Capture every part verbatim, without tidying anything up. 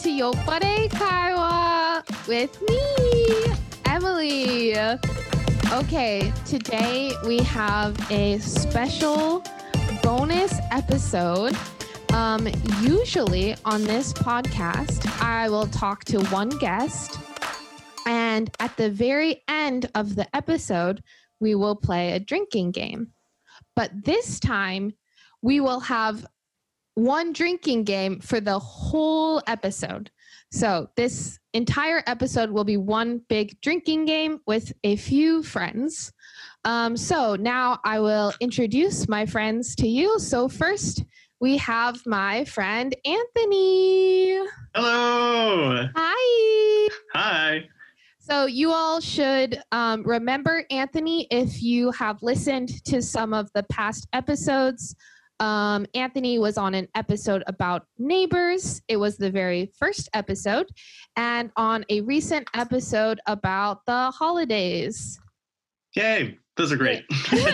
to Yopare Kaiwa with me, Emily. Okay, today we have a special bonus episode. Um, usually on this podcast, I will talk to one guest, and at the very end of the episode, we will play a drinking game. But this time, we will have one drinking game for the whole episode. So this entire episode will be one big drinking game with a few friends. Um, so now I will introduce my friends to you. So first, we have my friend Anthony. Hello. Hi. Hi. So you all should um, remember Anthony if you have listened to some of the past episodes. Um, Anthony was on an episode about neighbors. It was the very first episode, and on a recent episode about the holidays. Yay. Those are great.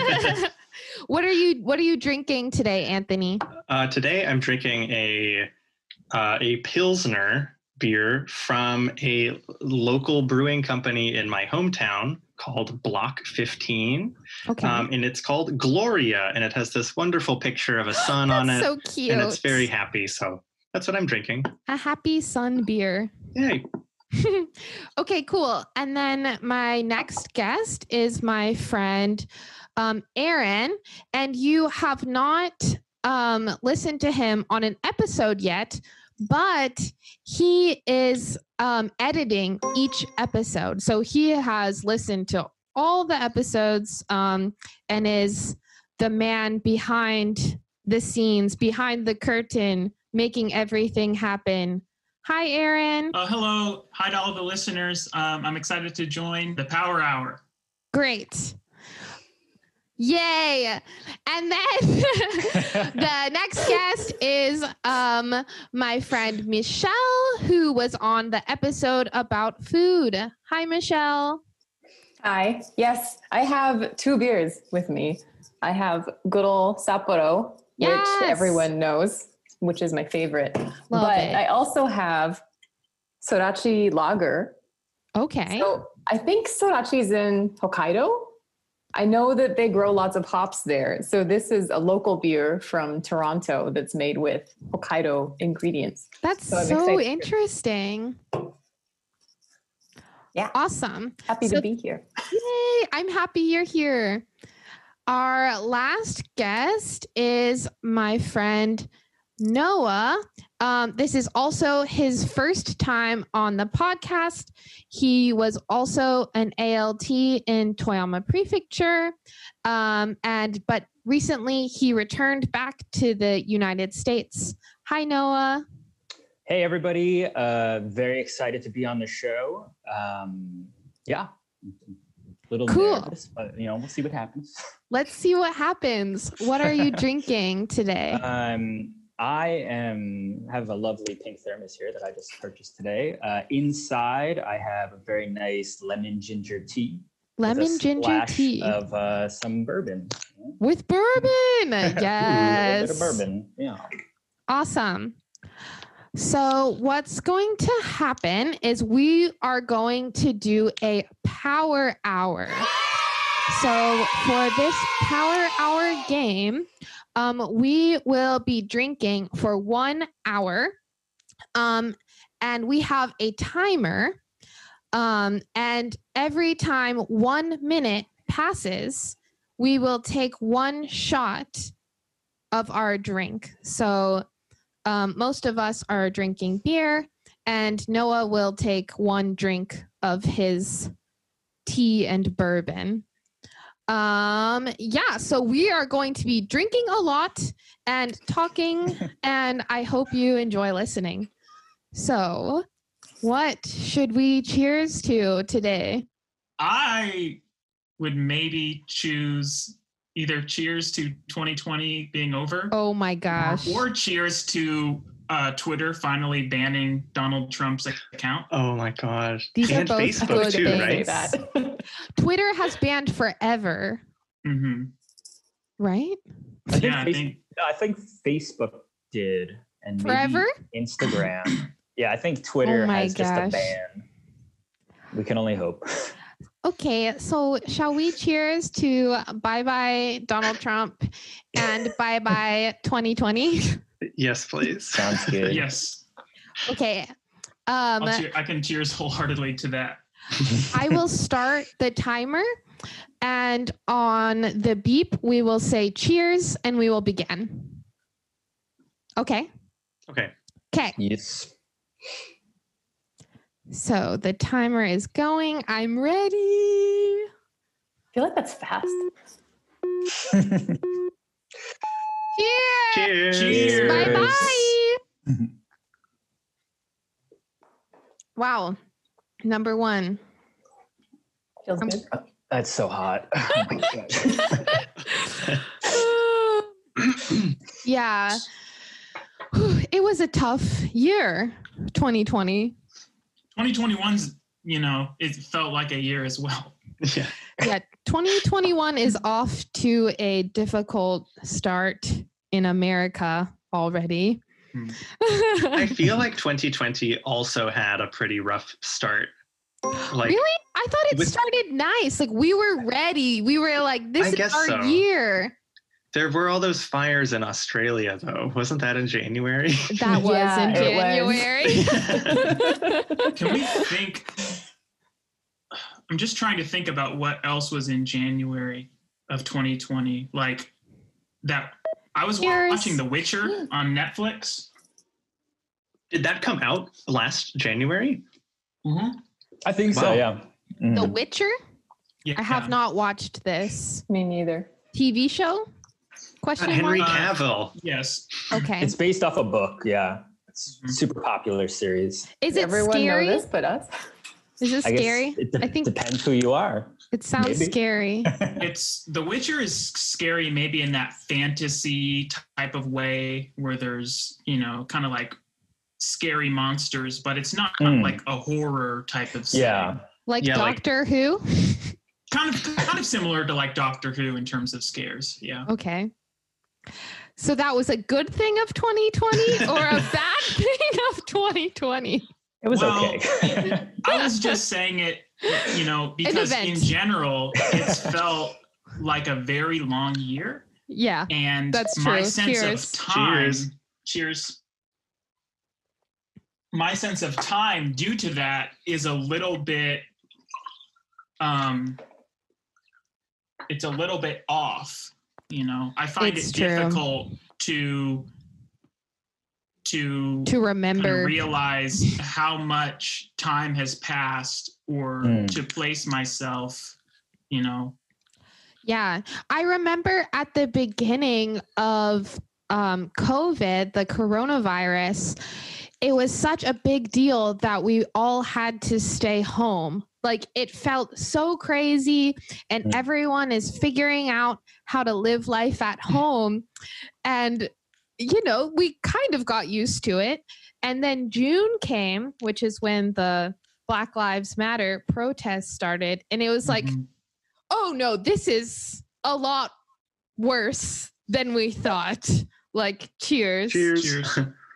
What are you What are you drinking today, Anthony? Uh, today I'm drinking a uh, a Pilsner beer from a local brewing company in my hometown called Block fifteen. Okay. Um, and it's called Gloria, and it has this wonderful picture of a sun on it. So cute. And it's very happy. So that's what I'm drinking. A happy sun beer. Yay. Okay, cool. And then my next guest is my friend um, Aaron, and you have not um, listened to him on an episode yet, but he is um, editing each episode. So he has listened to all the episodes um, and is the man behind the scenes, behind the curtain, making everything happen. Hi, Aaron. Uh, hello. Hi to all the listeners. Um, I'm excited to join the Power Hour. Great. Yay. And then the next guest is um, my friend Michelle, who was on the episode about food. Hi, Michelle. Hi. Yes, I have two beers with me. I have good old Sapporo, Yes. which everyone knows, which is my favorite. Love but it. I also have Sorachi Lager. Okay. So I think Sorachi is in Hokkaido. I know that they grow lots of hops there. So this is a local beer from Toronto that's made with Hokkaido ingredients. That's so I'm so excited. interesting. Yeah. Awesome. Happy So- to be here. Yay, I'm happy you're here. Our last guest is my friend Noah. Um, this is also his first time on the podcast. He was also an A L T in Toyama Prefecture, um, and but recently he returned back to the United States. Hi, Noah. Hey, everybody. Uh, very excited to be on the show. Um, yeah. A little Cool. nervous, but, you know, we'll see what happens. Let's see what happens. What are you drinking today? Um, I am have a lovely pink thermos here that I just purchased today. Uh, inside, I have a very nice lemon ginger tea. with a Lemon ginger splash tea of uh, some bourbon. with bourbon. Ooh, a little Yes. bit of bourbon. Yeah. Awesome. So what's going to happen is we are going to do a power hour. So for this power hour game, um, we will be drinking for one hour. Um, and we have a timer. Um, and every time one minute passes, we will take one shot of our drink. So um, most of us are drinking beer, and Noah will take one drink of his tea and bourbon. Um, yeah, so we are going to be drinking a lot and talking, and I hope you enjoy listening. So, what should we cheers to today? I would maybe choose either cheers to twenty twenty being over Oh my gosh. or cheers to uh, Twitter finally banning Donald Trump's account. Oh my gosh. These are and both Facebook good too, things. right? That. Twitter has banned forever, Mm-hmm. right? I think, Yeah, I face- think I think Facebook did. And maybe Forever? Instagram. Yeah, I think Twitter Oh my has just a gosh. ban. We can only hope. Okay, so shall we cheers to bye bye Donald Trump and bye bye twenty twenty? Yes, please. Sounds good. Yes, Okay. Um, I'll cheer, I can cheers wholeheartedly to that. I will start the timer, and on the beep, we will say cheers and we will begin. Okay. Okay. Okay. Yes. So the timer is going. I'm ready. I feel like that's fast. Cheers. Cheers. Cheers. Bye bye. Wow. Number one. Feels Um, good. That's so hot. Oh my gosh. Yeah. It was a tough year, twenty twenty. twenty twenty-one's, you know, it felt like a year as well. Yeah. Yeah, twenty twenty-one is off to a difficult start in America already. Hmm. I feel like twenty twenty also had a pretty rough start. Like, Really? I thought it with- started nice. Like we were ready. We were like, this I is guess our so. year. there were all those fires in Australia, though. Wasn't that in January? That was Yeah, in it January. Can we think? I'm just trying to think about what else was in January of twenty twenty. Like that, I was Here's- watching The Witcher on Netflix. Did that come out last January? Mm-hmm. I think so, Wow. yeah. Mhm. The Witcher? Yeah, I have not watched this Me neither. T V show. Question Henry mark. Uh, Cavill. Yes. Okay. It's based off a book, yeah. It's Mhm. super popular series. Is it Everyone scary? know this but us. Is it I guess scary? it de- I think- depends who you are. It sounds Maybe. scary. It's The Witcher is scary, maybe in that fantasy type of way where there's, you know, kind of like scary monsters, but it's not Mm. like a horror type of setting. Yeah. Like Yeah, like- Doctor Who? Kind of kind of similar to like Doctor Who in terms of scares. Yeah. Okay. So that was a good thing of twenty twenty or a bad thing of twenty twenty? It was Well, okay. I was just saying it, you know, because event. in general, it's felt like a very long year. Yeah. And That's my true. sense Cheers. of time, Cheers. cheers. My sense of time due to that is a little bit, um, it's a little bit off. You know, I find It's it true. difficult to to To kind of remember. realize how much time has passed or Mm. to place myself, you know. Yeah. I remember at the beginning of um, COVID, the coronavirus, it was such a big deal that we all had to stay home. Like it felt so crazy, and Mm. everyone is figuring out how to live life at home. And, you know, we kind of got used to it. And then June came, which is when the Black Lives Matter protests started. And it was like, Mhm. oh no, this is a lot worse than we thought. Like, cheers. Cheers. Cheers.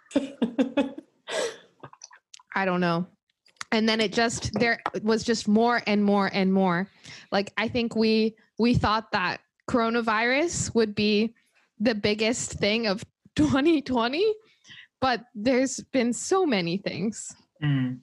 I don't know. And then it just, there was just more and more and more. Like, I think we, we thought that coronavirus would be the biggest thing of twenty twenty, but there's been so many things. Mm.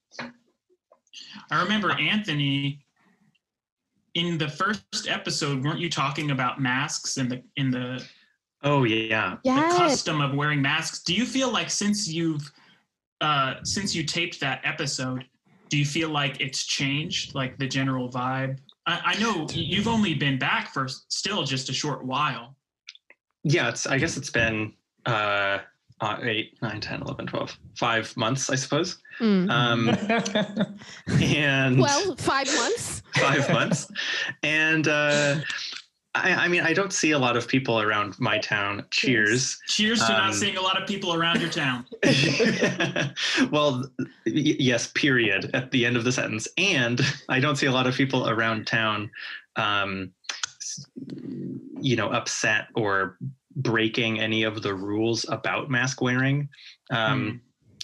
I remember Anthony in the first episode, weren't you talking about masks and the in the, Oh, yeah. the Yes. custom of wearing masks? Do you feel like since you've uh since you taped that episode, do you feel like it's changed, like the general vibe? I, I know you've only been back for still just a short while. Yeah, it's. I guess it's been uh, uh, eight, nine, ten, eleven, twelve, five months, I suppose. Mm. Um, and Well, five months. five months. And uh, I, I mean, I don't see a lot of people around my town. Cheers. Cheers to Um, not seeing a lot of people around your town. Well, y- yes, period, at the end of the sentence. And I don't see a lot of people around town, um, s- you know, upset or breaking any of the rules about mask wearing. Um,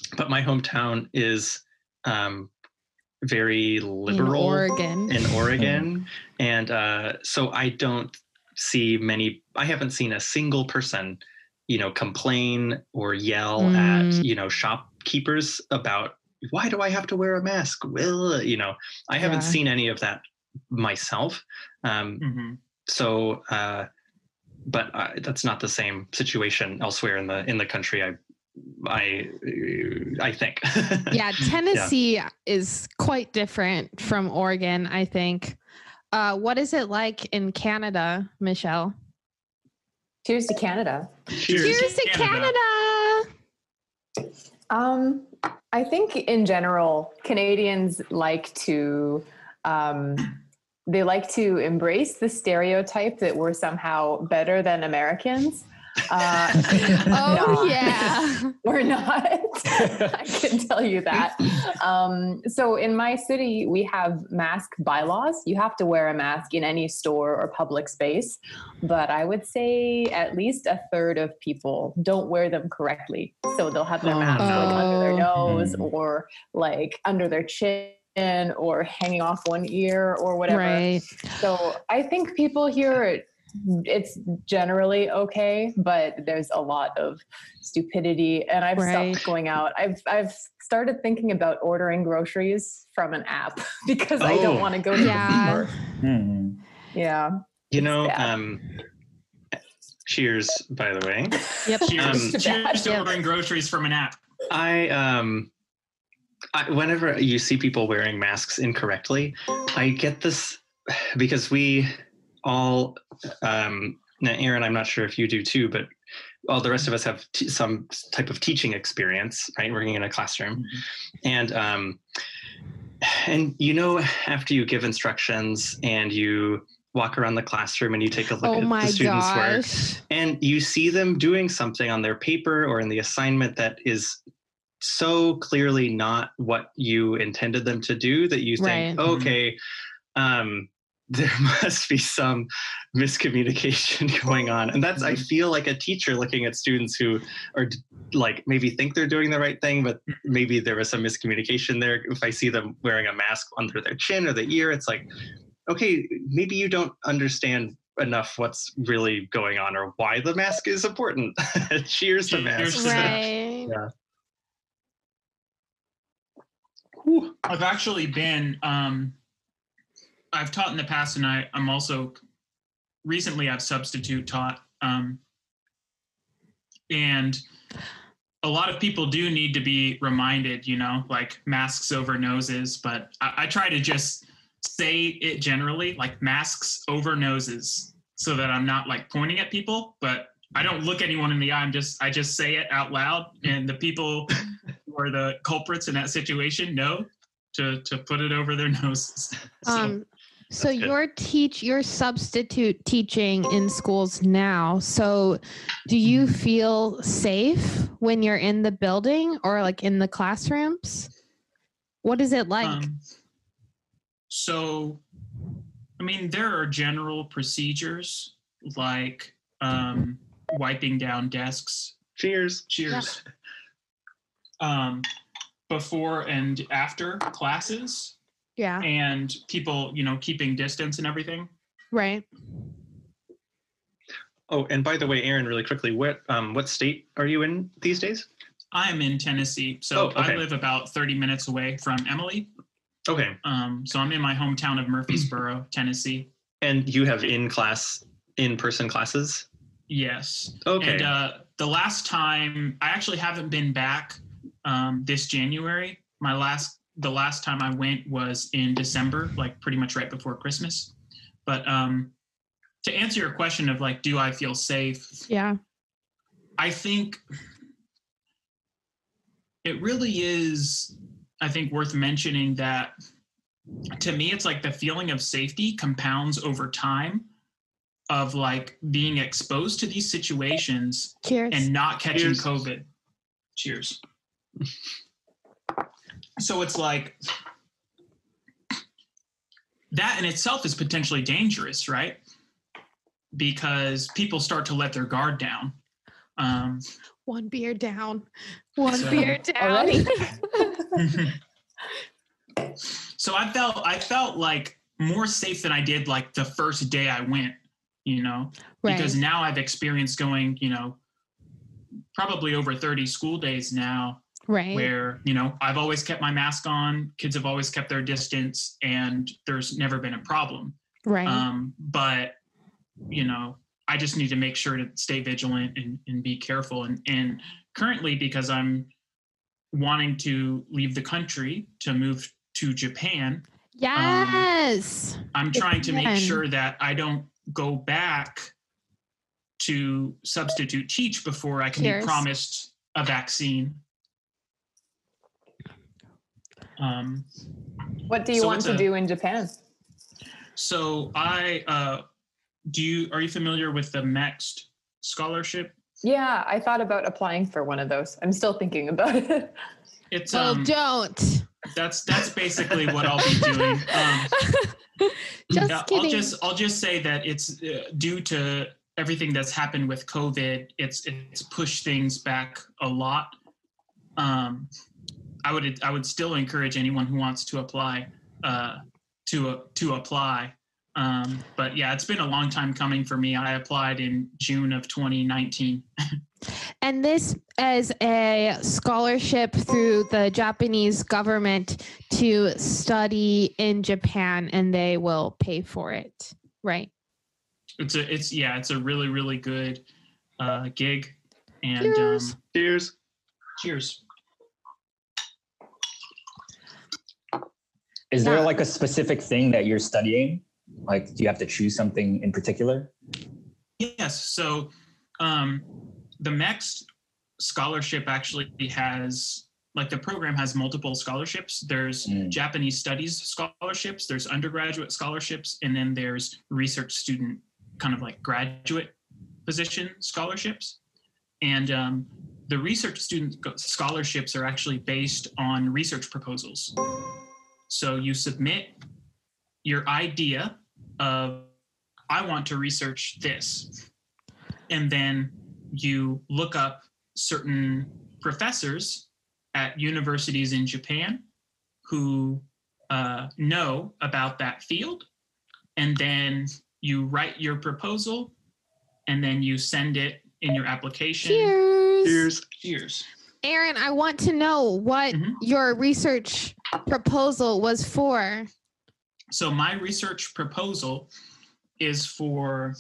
but my hometown is um, very liberal In Oregon. in Oregon. And uh, so I don't see many, I haven't seen a single person, you know, complain or yell Mm. at, you know, shopkeepers about, why do I have to wear a mask? Well, you know, I haven't Yeah. seen any of that myself. Um, Mhm. so, uh, but uh, that's not the same situation elsewhere in the in the country. I, I, I think. Yeah, Tennessee is quite different from Oregon, I think. Uh, what is it like in Canada, Michelle? Cheers to Canada. Cheers. Cheers to Canada. Canada. Um, I think in general, Canadians like to um, they like to embrace the stereotype that we're somehow better than Americans. Uh, Oh, no, yeah. we're not. I can tell you that. Um, so in my city, we have mask bylaws. You have to wear a mask in any store or public space. But I would say at least a third of people don't wear them correctly. So they'll have their Oh, mask no. like under their Oh. nose Mm. or like under their chin or hanging off one ear or whatever. Right. So I think people here, it's generally okay, but there's a lot of stupidity, and I've Right. stopped going out. I've I've started thinking about ordering groceries from an app because I Oh. don't want to go to Yeah. the store. Mhm. Yeah. You It's know, bad. um, cheers, by the way. Yep. Cheers, Um, cheers to Yeah. ordering groceries from an app. I um I, whenever you see people wearing masks incorrectly, I get this because we all um now Aaron, I'm not sure if you do too, but all the rest of us have t- some type of teaching experience, right? Working in a classroom. And um and you know, after you give instructions and you walk around the classroom and you take a look Oh at my the students' work, gosh. and you see them doing something on their paper or in the assignment that is so clearly not what you intended them to do, that you think, Right. okay, um, there must be some miscommunication going on. And that's, I feel like a teacher looking at students who are like, maybe think they're doing the right thing, but maybe there was some miscommunication there. If I see them wearing a mask under their chin or the ear, it's like, okay, maybe you don't understand enough what's really going on or why the mask is important. Cheers to Cheers masks. to that. Right. Yeah. I've actually been, um, I've taught in the past, and I, I'm also recently I've substitute taught. Um, and a lot of people do need to be reminded, you know, like masks over noses, but I, I try to just say it generally, like masks over noses, so that I'm not like pointing at people, but I don't look anyone in the eye. I'm just, I just say it out loud, and the people who are the culprits in that situation know to to put it over their noses. So, Um, so That's good. you're teach you're substitute teaching in schools now. So do you feel safe when you're in the building or like in the classrooms? What is it like? um, so, I mean, there are general procedures like um, wiping down desks. Cheers. Cheers. Um, before and after classes, Yeah. and people, you know, keeping distance and everything. Right. Oh, and by the way, Aaron, really quickly, what um what state are you in these days? I'm in Tennessee, so Oh, okay. I live about thirty minutes away from Emily. Okay. Um, so I'm in my hometown of Murfreesboro, Tennessee. And you have in-class, in-person classes? Yes. Okay. And uh, the last time, I actually haven't been back um, this January. My last, the last time I went was in December, like pretty much right before Christmas. But um, to answer your question of like, do I feel safe? Yeah. I think it really is, I think, worth mentioning that to me, it's like the feeling of safety compounds over time of like being exposed to these situations Cheers. and not catching Cheers. COVID. Cheers. So it's like that in itself is potentially dangerous, right? Because people start to let their guard down. Um, One beer down. One So- beer down. Already? so I felt I felt like more safe than I did like the first day I went, you know, Right. because now I've experienced going, you know, probably over thirty school days now Right. where, you know, I've always kept my mask on, kids have always kept their distance, and there's never been a problem. Right. Um, but, you know, I just need to make sure to stay vigilant and, and be careful. And, and currently, because I'm wanting to leave the country to move to Japan, yes. I'm trying to make Japan. sure that I don't go back to substitute teach before I can Cheers. be promised a vaccine. Um, What do you So want it's to a- do in Japan? so I, uh, do you, are you familiar with the M E X T scholarship? Yeah, I thought about applying for one of those. I'm still thinking about it. It's, Oh, um, don't. that's, that's basically what I'll be doing. Um, Just Yeah, kidding. I'll just I'll just say that it's uh, due to everything that's happened with COVID. It's it's pushed things back a lot. Um, I would I would still encourage anyone who wants to apply uh, to uh, to apply. Um, but yeah, it's been a long time coming for me. I applied in June of twenty nineteen. And this is a scholarship through the Japanese government to study in Japan, and they will pay for it. Right. It's a it's yeah, it's a really really good uh, gig. And Cheers. um, Cheers. cheers. Is there Yeah. like a specific thing that you're studying? Like, do you have to choose something in particular? Yes. So um, the M E X T scholarship actually has, like the program has multiple scholarships. There's Mm. Japanese studies scholarships, there's undergraduate scholarships, and then there's research student kind of like graduate position scholarships. And um, the research student go- scholarships are actually based on research proposals. So you submit your idea of, I want to research this. And then you look up certain professors at universities in Japan who uh, know about that field. And then you write your proposal, and then you send it in your application. Cheers. Cheers. Cheers. Aaron, I want to know what Mhm. your research proposal was for. So my research proposal is for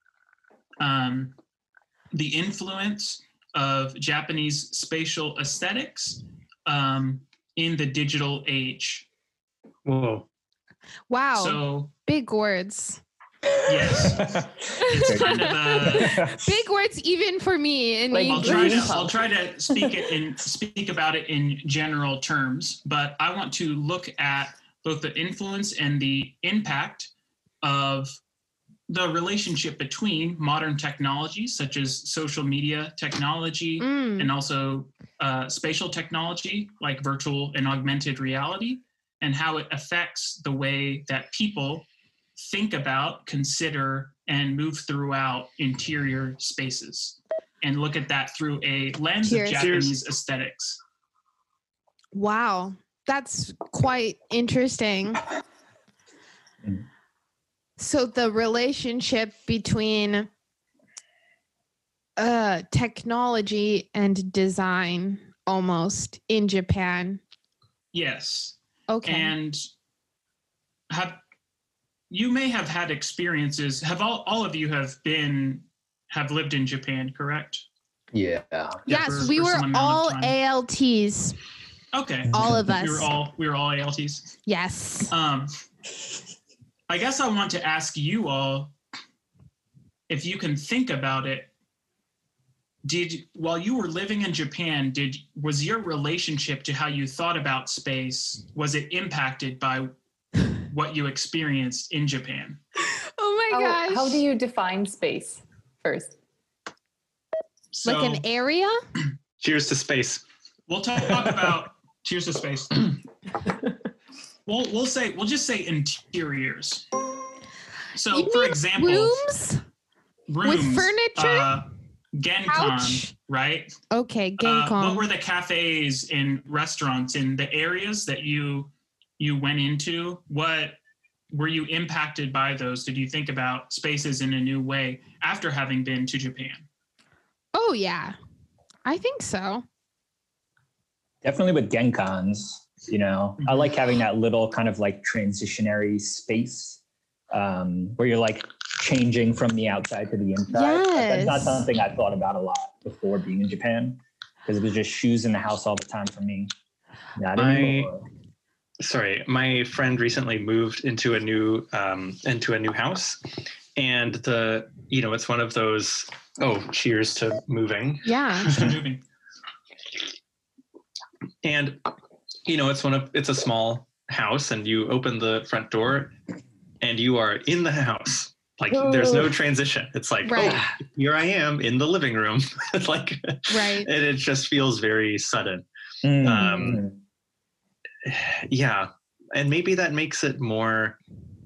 um, the influence of Japanese spatial aesthetics um, in the digital age. Whoa. Wow. So Big words. yes, it's kind of a. Big words even for me in Like I'll English. try to English. I'll try to speak it in speak about it in general terms, but I want to look at both the influence and the impact of the relationship between modern technologies such as social media technology Mm, and also uh, spatial technology like virtual and augmented reality, and how it affects the way that people think about, consider, and move throughout interior spaces, and look at that through a lens Cheers. of Japanese aesthetics. wow. That's quite interesting. Mm. So the relationship between uh technology and design almost in Japan. Yes. Okay. And have you may have had experiences, have all, all of you have been, have lived in Japan, correct? Yeah. Yeah, yes, for- we for were some amount of all time. A L Ts. Okay. All of us. We were all, we were all A L Ts. Yes. Um, I guess I want to ask you all, if you can think about it, did, while you were living in Japan, did, was your relationship to how you thought about space, was it impacted by what you experienced in Japan? Oh my How, gosh. how do you define space first? So like an area? Cheers to space. we'll talk about, cheers to space. We'll, we'll say, we'll just say interiors. So You for mean example, Rooms? rooms, furniture? uh, GenCon, Ouch. right? Okay, Uh, GenCon. what were the cafes and restaurants in the areas that you you went into? What were you impacted by those? Did you think about spaces in a new way after having been to Japan? Oh yeah, I think so. Definitely with GenCons, you know, I like having that little kind of like transitionary space um, where you're like changing from the outside to the inside. But that's not Yes. something I thought about a lot before being in Japan, because it was just shoes in the house all the time for me. Not I- anymore. Sorry, my friend recently moved into a new um, into a new house, and the you know it's one of those. Oh, cheers to moving. Yeah. Moving. And you know it's one of it's a small house, and you open the front door, and you are in the house. Like there's no transition. It's like, Right. oh, here I am in the living room. It's like, Right. and it just feels very sudden. Mm. Um, Yeah, and maybe that makes it more.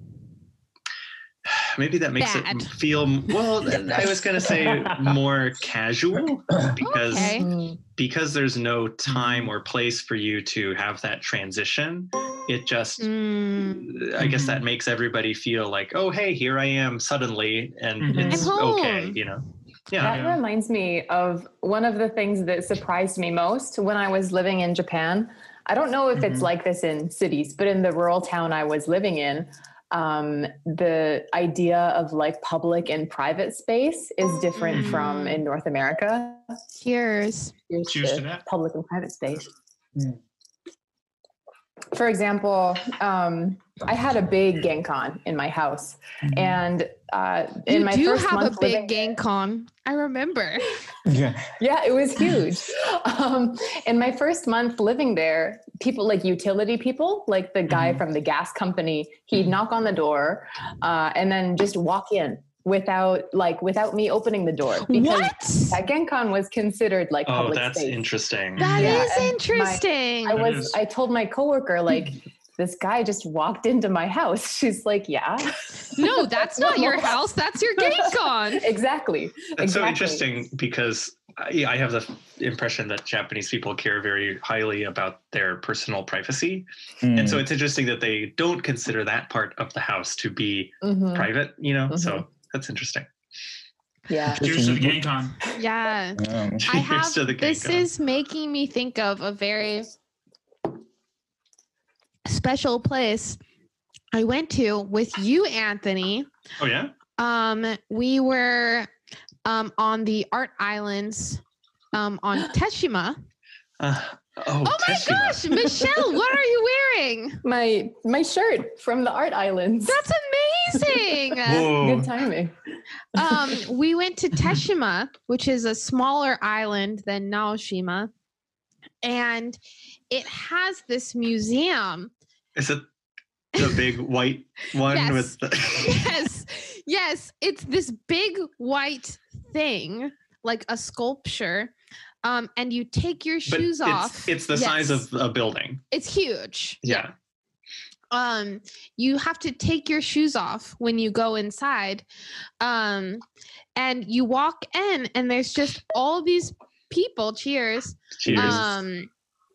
Maybe that makes Bad. it feel well. I was gonna say more casual because Okay. Mm. because there's no time or place for you to have that transition. It just, Mm. I guess Mhm. that makes everybody feel like, oh, hey, here I am suddenly, and Mhm. it's I'm home. okay, you know. Yeah. That Yeah. reminds me of one of the things that surprised me most when I was living in Japan. I don't know if it's Mhm. like this in cities, but in the rural town I was living in, um, the idea of like public and private space is different Mm. from in North America. Cheers. Here's Cheers the to that. public and private space. Mm. For example, um, I had a big GenCon in my house, and uh, in You my do first have a month living big GameCon. I remember. Yeah. Yeah, it was huge. Um, in my first month living there, people like utility people, like the guy Mhm. from the gas company, he'd knock on the door uh, and then just walk in without like without me opening the door because What? that GenCon was considered like Oh, public that's space. interesting. That Yeah, is and my- interesting. I That was is. I told my coworker like this guy just walked into my house. She's like, yeah. No, that's not your house. That's your GameCon. Exactly. That's so exactly. interesting because I, I have the impression that Japanese people care very highly about their personal privacy. Mm. And so it's interesting that they don't consider that part of the house to be Mhm. private, you know? Mhm. So that's interesting. Yeah. Cheers to the GenCon. Yeah. Um, I Cheers have, to the this GameCon. is making me think of a very special place I went to with you, Anthony. Oh, yeah? Um, we were um, on the art islands um, on Teshima. Uh, oh, Oh my Teshima. gosh, Michelle, what are you wearing? My my shirt from the art islands. That's amazing. Whoa. Good timing. um, we went to Teshima, which is a smaller island than Naoshima, and it has this museum. Is it the big white one Yes. with the. Yes, yes, it's this big white thing, like a sculpture, um, and you take your But shoes it's, off. It's the size Yes. of a building. It's huge. Yeah. Um, you have to take your shoes off when you go inside, um, and you walk in, and there's just all these people. Cheers. Cheers. Um,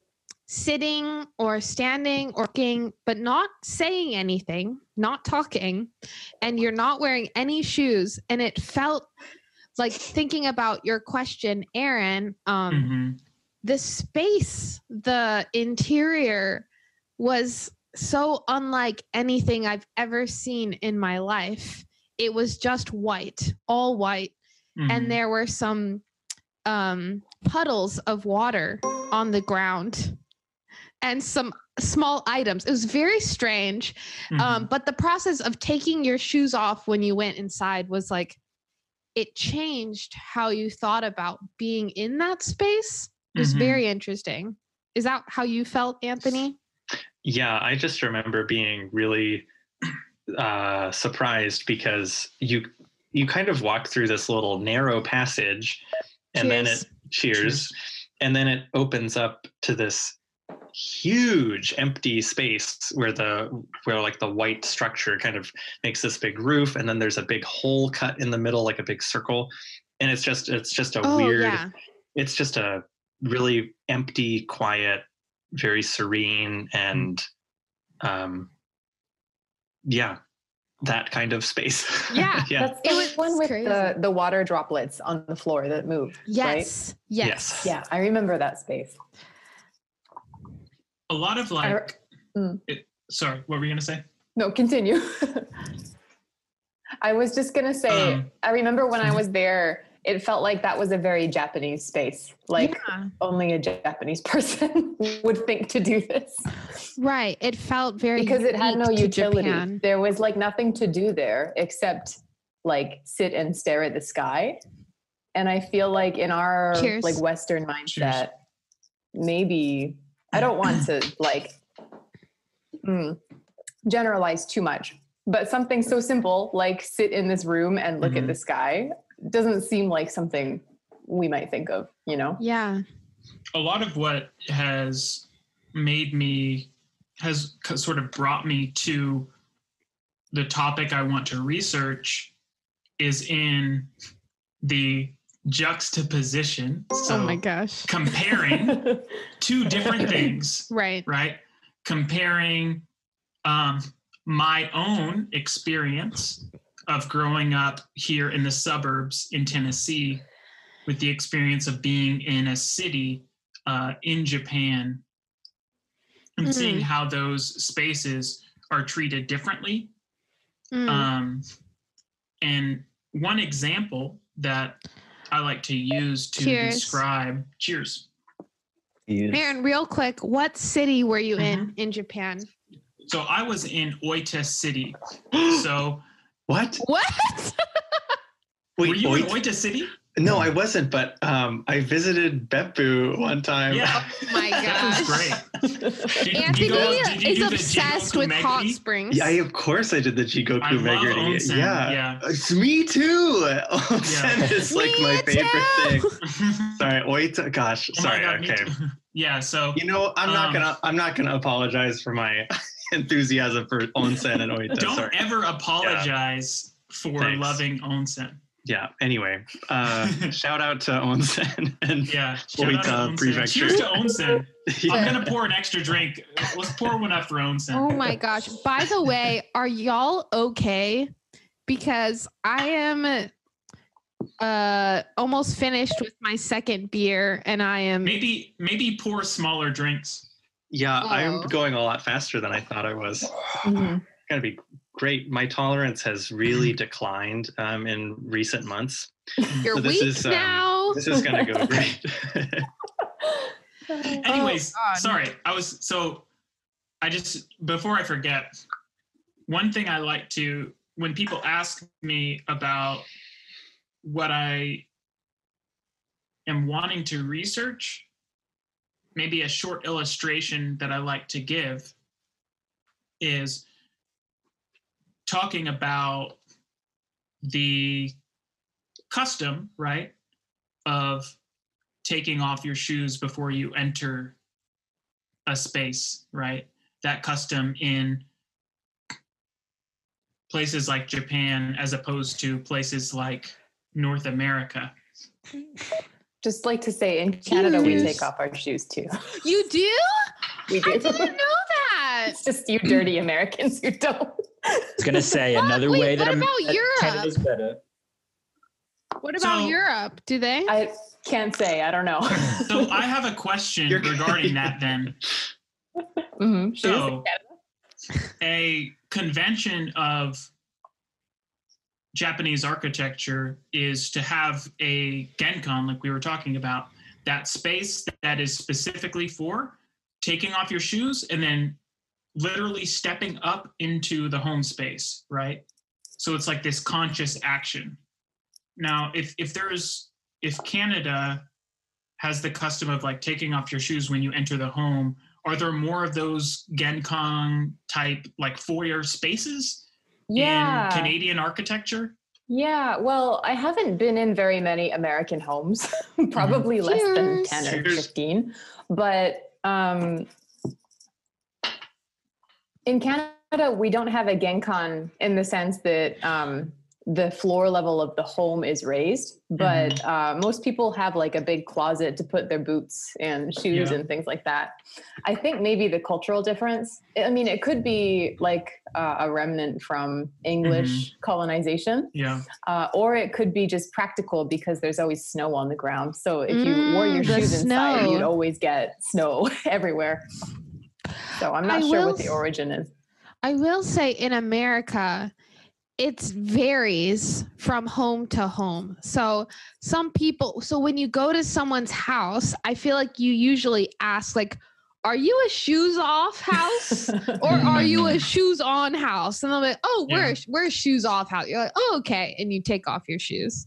sitting or standing or walking, but not saying anything, not talking, and you're not wearing any shoes. And it felt like, thinking about your question, Aaron, um, Mhm. the space, the interior was so unlike anything I've ever seen in my life. It was just white, all white. Mhm. And there were some um, puddles of water on the ground and some small items. It was very strange. Um, Mhm. but the process of taking your shoes off when you went inside was like, it changed how you thought about being in that space. It was Mhm. very interesting. Is that how you felt, Anthony? Yeah, I just remember being really uh, surprised because you you kind of walk through this little narrow passage, and then Cheers. it cheers, Cheers. and then it opens up to this huge empty space where the where like the white structure kind of makes this big roof, and then there's a big hole cut in the middle, like a big circle, and it's just it's just a Oh, weird. yeah. It's just a really empty, quiet, very serene, and um, yeah, that kind of space. Yeah, yeah. That's It the was one with crazy. the, the water droplets on the floor that move, right? Yes. Yes. Yes. Yeah, I remember that space. A lot of I- like, mm. it, sorry, what were you gonna say? No, continue. I was just going to say, Um, I remember when I was there, it felt like that was a very Japanese space. Like Yeah. only a Japanese person would think to do this. Right. It felt very Because it had no unique to utility. Japan. There was like nothing to do there except like sit and stare at the sky. And I feel like in our Cheers. like Western mindset, Cheers. maybe I don't want to like mm, generalize too much, but something so simple like sit in this room and look Mhm. at the sky doesn't seem like something we might think of, you know? Yeah. A lot of what has made me has c- sort of brought me to the topic I want to research is in the juxtaposition. So oh my gosh. comparing two different things, Right. right? Comparing um, my own experience of growing up here in the suburbs in Tennessee with the experience of being in a city uh, in Japan and Mm. seeing how those spaces are treated differently. Mm. Um, and one example that I like to use to Cheers. describe, cheers. Yes. Aaron, real quick, what city were you in Mm-hmm. in Japan? So I was in Oita City. So What? What? Wait, were you wait. in Oita City? No, I wasn't, but um, I visited Beppu one time. Yeah. Oh my That was gosh. great. Did, Anthony you go- did you is do the obsessed Jigoku with hot Meguri? springs. Yeah, I, of course I did the Jigoku I love Meguri. onsen, Yeah. yeah. It's me too. Onsen Yeah. is like Me my favorite thing. Oh Sorry, Oita. Gosh, my sorry. God, me okay. too. Yeah, so You know, I'm not Um, gonna. I'm not gonna apologize for my enthusiasm for onsen and Oita. don't Sorry. ever apologize for Thanks. loving onsen. Yeah. Anyway, uh, shout out to onsen and Yeah. shout out to Oita onsen. Prefecture. Cheers to onsen. Yeah. I'm gonna pour an extra drink. Let's pour one up for onsen. Oh my gosh. By the way, are y'all okay? Because I am uh almost finished with my second beer and I am Maybe maybe pour smaller drinks. Yeah, I'm Oh. going a lot faster than I thought I was. Mhm. Gonna be great. My tolerance has really declined um, in recent months. you're so this weak is, um, now. This is gonna go great. Anyways, God. sorry. I was so I just before I forget, one thing I like to when people ask me about what I am wanting to research, maybe a short illustration that I like to give is talking about the custom, right, of taking off your shoes before you enter a space, right? That custom in places like Japan as opposed to places like North America. Just like to say, in Canada, we Cheers. take off our shoes too. You do? We do. I didn't know that. It's just you dirty Americans who don't. I was gonna say What? another Wait, way that, what I'm, about that Europe? Canada's better. What about So- Europe? Do they? I can't say. I don't know. So I have a question You're- regarding that then. Mhm. Shoes in So Canada. a convention of Japanese architecture is to have a genkan, like we were talking about, that space that is specifically for taking off your shoes and then literally stepping up into the home space, right? So it's like this conscious action. Now, if if there's if Canada has the custom of like taking off your shoes when you enter the home, are there more of those genkan type like foyer spaces Yeah. in Canadian architecture? Yeah, well, I haven't been in very many American homes, probably less than Cheers. ten or Cheers. fifteen. But um, in Canada, we don't have a genkan in the sense that um, the floor level of the home is raised, but Mhm. uh, most people have like a big closet to put their boots and shoes Yeah. and things like that. I think maybe the cultural difference, I mean, it could be like uh, a remnant from English colonization, Yeah. uh, or it could be just practical because there's always snow on the ground. So if you wore your Mm, the shoes inside, snow. you'd always get snow everywhere. So I'm not I sure will what the s- origin is. I will say in America, it varies from home to home. So some people, so when you go to someone's house, I feel like you usually ask like, are you a shoes off house or are you a shoes on house? And they'll be like, oh, we're, Yeah. we're a shoes off house. You're like, oh, okay. And you take off your shoes.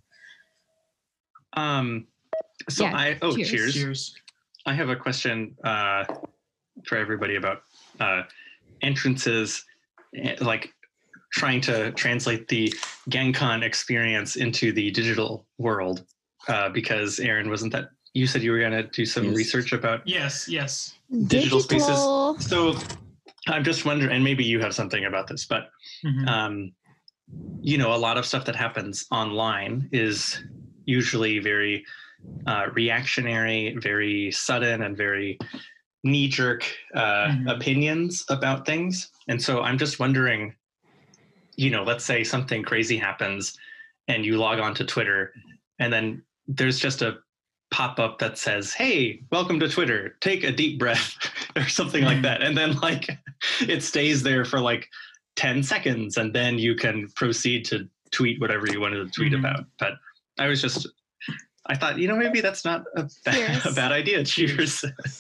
Um, so Yeah, I oh cheers. cheers. Cheers. I have a question uh, for everybody about uh, entrances, eh, like trying to translate the Genkan experience into the digital world. Uh, because Aaron, wasn't that you said you were going to do some Yes. research about Yes. Yes. digital spaces? Digital. So I'm just wondering, and maybe you have something about this, but Mhm. um, you know, a lot of stuff that happens online is usually very uh, reactionary, very sudden, and very knee-jerk uh, Mhm. opinions about things. And so I'm just wondering, you know, let's say something crazy happens and you log on to Twitter and then there's just a pop-up that says, hey, welcome to Twitter, take a deep breath or something like Mhm. that. And then like it stays there for like ten seconds and then you can proceed to tweet whatever you wanted to tweet Mhm. about. But I was just, I thought, you know, maybe that's not a bad, Cheers. a bad idea. Cheers.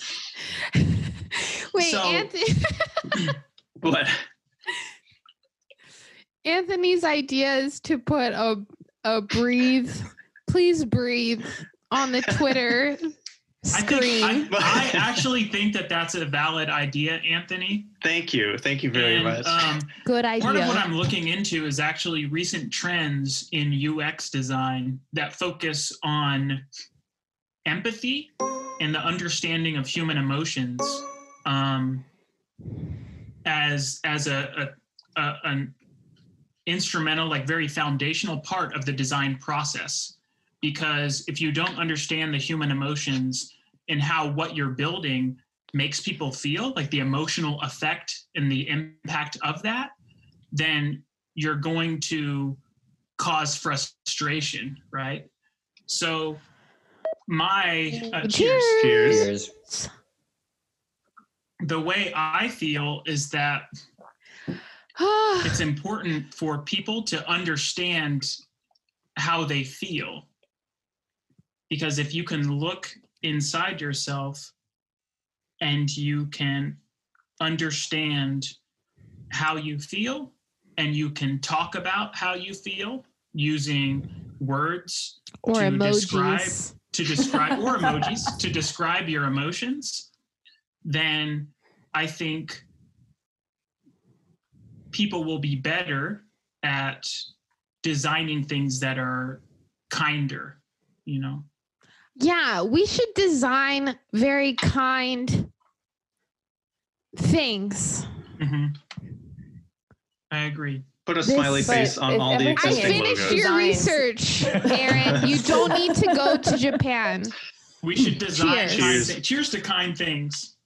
Wait, So- Anthony, What? Anthony's idea is to put a, a breathe, please breathe on the Twitter I screen. think I, I actually think that that's a valid idea, Anthony. Thank you. Thank you very and, much. Um, Good idea. part of what I'm looking into is actually recent trends in U X design that focus on empathy and the understanding of human emotions um, as as a, a, a an instrumental, like very foundational part of the design process. Because if you don't understand the human emotions and how what you're building makes people feel, like the emotional effect and the impact of that, then you're going to cause frustration, right? So my uh, cheers. Cheers. Cheers. The way I feel is that it's important for people to understand how they feel. Because if you can look inside yourself and you can understand how you feel and you can talk about how you feel using words or to emojis. describe to describe or emojis to describe your emotions, then I think people will be better at designing things that are kinder, you know. Yeah, we should design very kind things. Mm-hmm. I agree. Put a This- smiley face But on if all the everything I is existing finished logos. your Designs. research, Aaron. You don't need to go to Japan. We should design Cheers. kind Cheers. thi- cheers to kind things.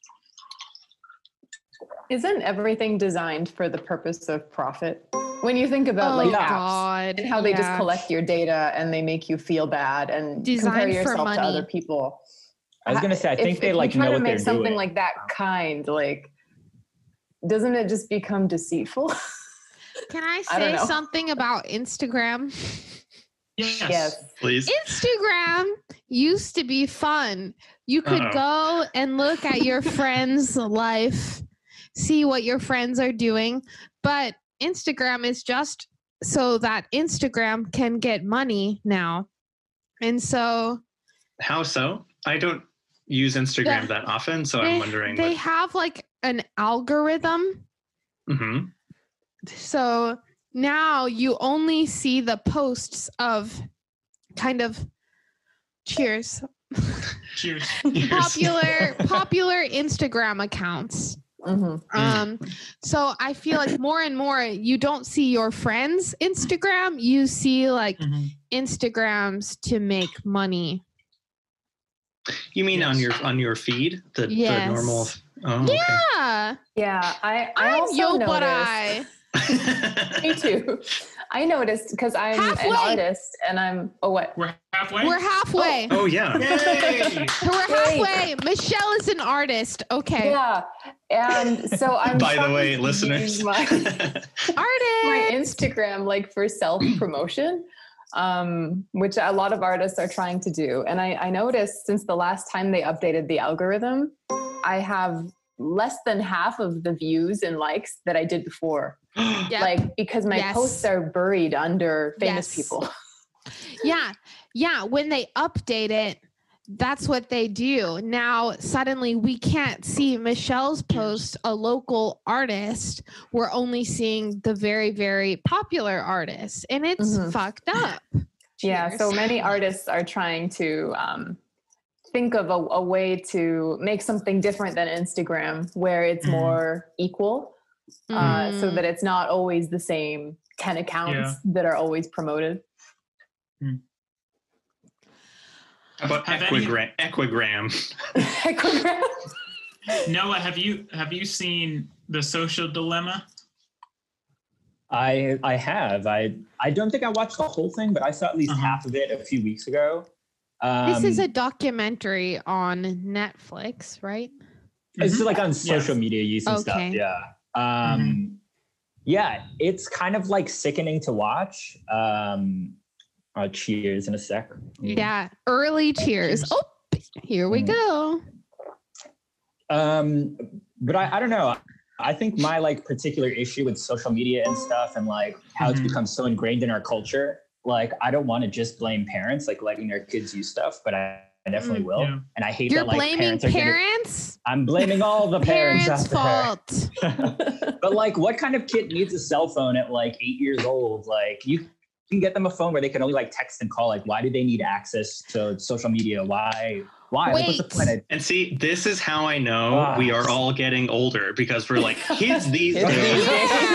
Isn't everything designed for the purpose of profit? When you think about Oh, like apps God. and how they just Yeah. collect your data and they make you feel bad and Designed compare for yourself to money. other people. I was gonna say, I If- think they if like you try know to what make they're something doing. like that kind, like, doesn't it just become deceitful? Can I I don't say know. something about Instagram? Yes. Yes. Please. Instagram used to be fun. You could Uh-oh. go and look at your friend's life, see what your friends are doing. But Instagram is just so that Instagram can get money now. And so How so? I don't use Instagram Yeah. that often, so they, I'm wondering. they what, have like an algorithm. Mhm. So now you only see the posts of kind of cheers Cheers. Cheers. popular popular Instagram accounts. Mhm. Um, so I feel like more and more you don't see your friends' Instagram, you see like Mhm. Instagrams to make money. You mean on Yes. your on your feed, the, Yes. the normal? Oh, okay. Yeah. Yeah, I I I'm also yo, noticed. but I. Me too. I noticed because I'm Halfway. an artist and I'm oh what? We're halfway. We're halfway. Oh yeah. Yay! We're halfway. Michelle is an artist. Okay. Yeah, and so I'm. By the trying way, to listeners. use my, my Artist. Instagram like for self promotion, um, which a lot of artists are trying to do. And I, I noticed since the last time they updated the algorithm, I have less than half of the views and likes that I did before. Yep. Like because my Yes. posts are buried under famous Yes. people. Yeah. Yeah. When they update it, that's what they do. Now, suddenly we can't see Michelle's post, a local artist. We're only seeing the very, very popular artists, and it's Mhm. fucked up. Yeah, Cheers. so many artists are trying to um, think of a, a way to make something different than Instagram, where it's Mhm. more equal, uh, so Mm. that it's not always the same ten accounts Yeah. that are always promoted. How about Have any- equigram? Equigram. Equigram. Noah, have you have you seen The Social Dilemma? I I have. I I don't think I watched the whole thing, but I saw at least Uh-huh. half of it a few weeks ago. Um, This is a documentary on Netflix, right? It's Mhm. like on social Yes. media use and stuff. Okay. Yeah. Um, Yeah, it's kind of like sickening to watch. Um, uh, cheers in a sec. Yeah. Early cheers. Cheers. Oh, here we Mm. go. Um, but I, I don't know. I think my like particular issue with social media and stuff and like how it's Mhm. become so ingrained in our culture. Like, I don't want to just blame parents, like letting their kids use stuff, but I, I definitely Mm, will. yeah. And I hate You're that like blaming parents are parents? gonna, I'm blaming all the parents, Parents' out there. fault. But like, what kind of kid needs a cell phone at like eight years old? Like, you can get them a phone where they can only like text and call. Like, why do they need access to social media? Why? Why? Like, what's the Wait. point? I- And see, this is how I know Ah. we are all getting older because we're like kids these Kids days. these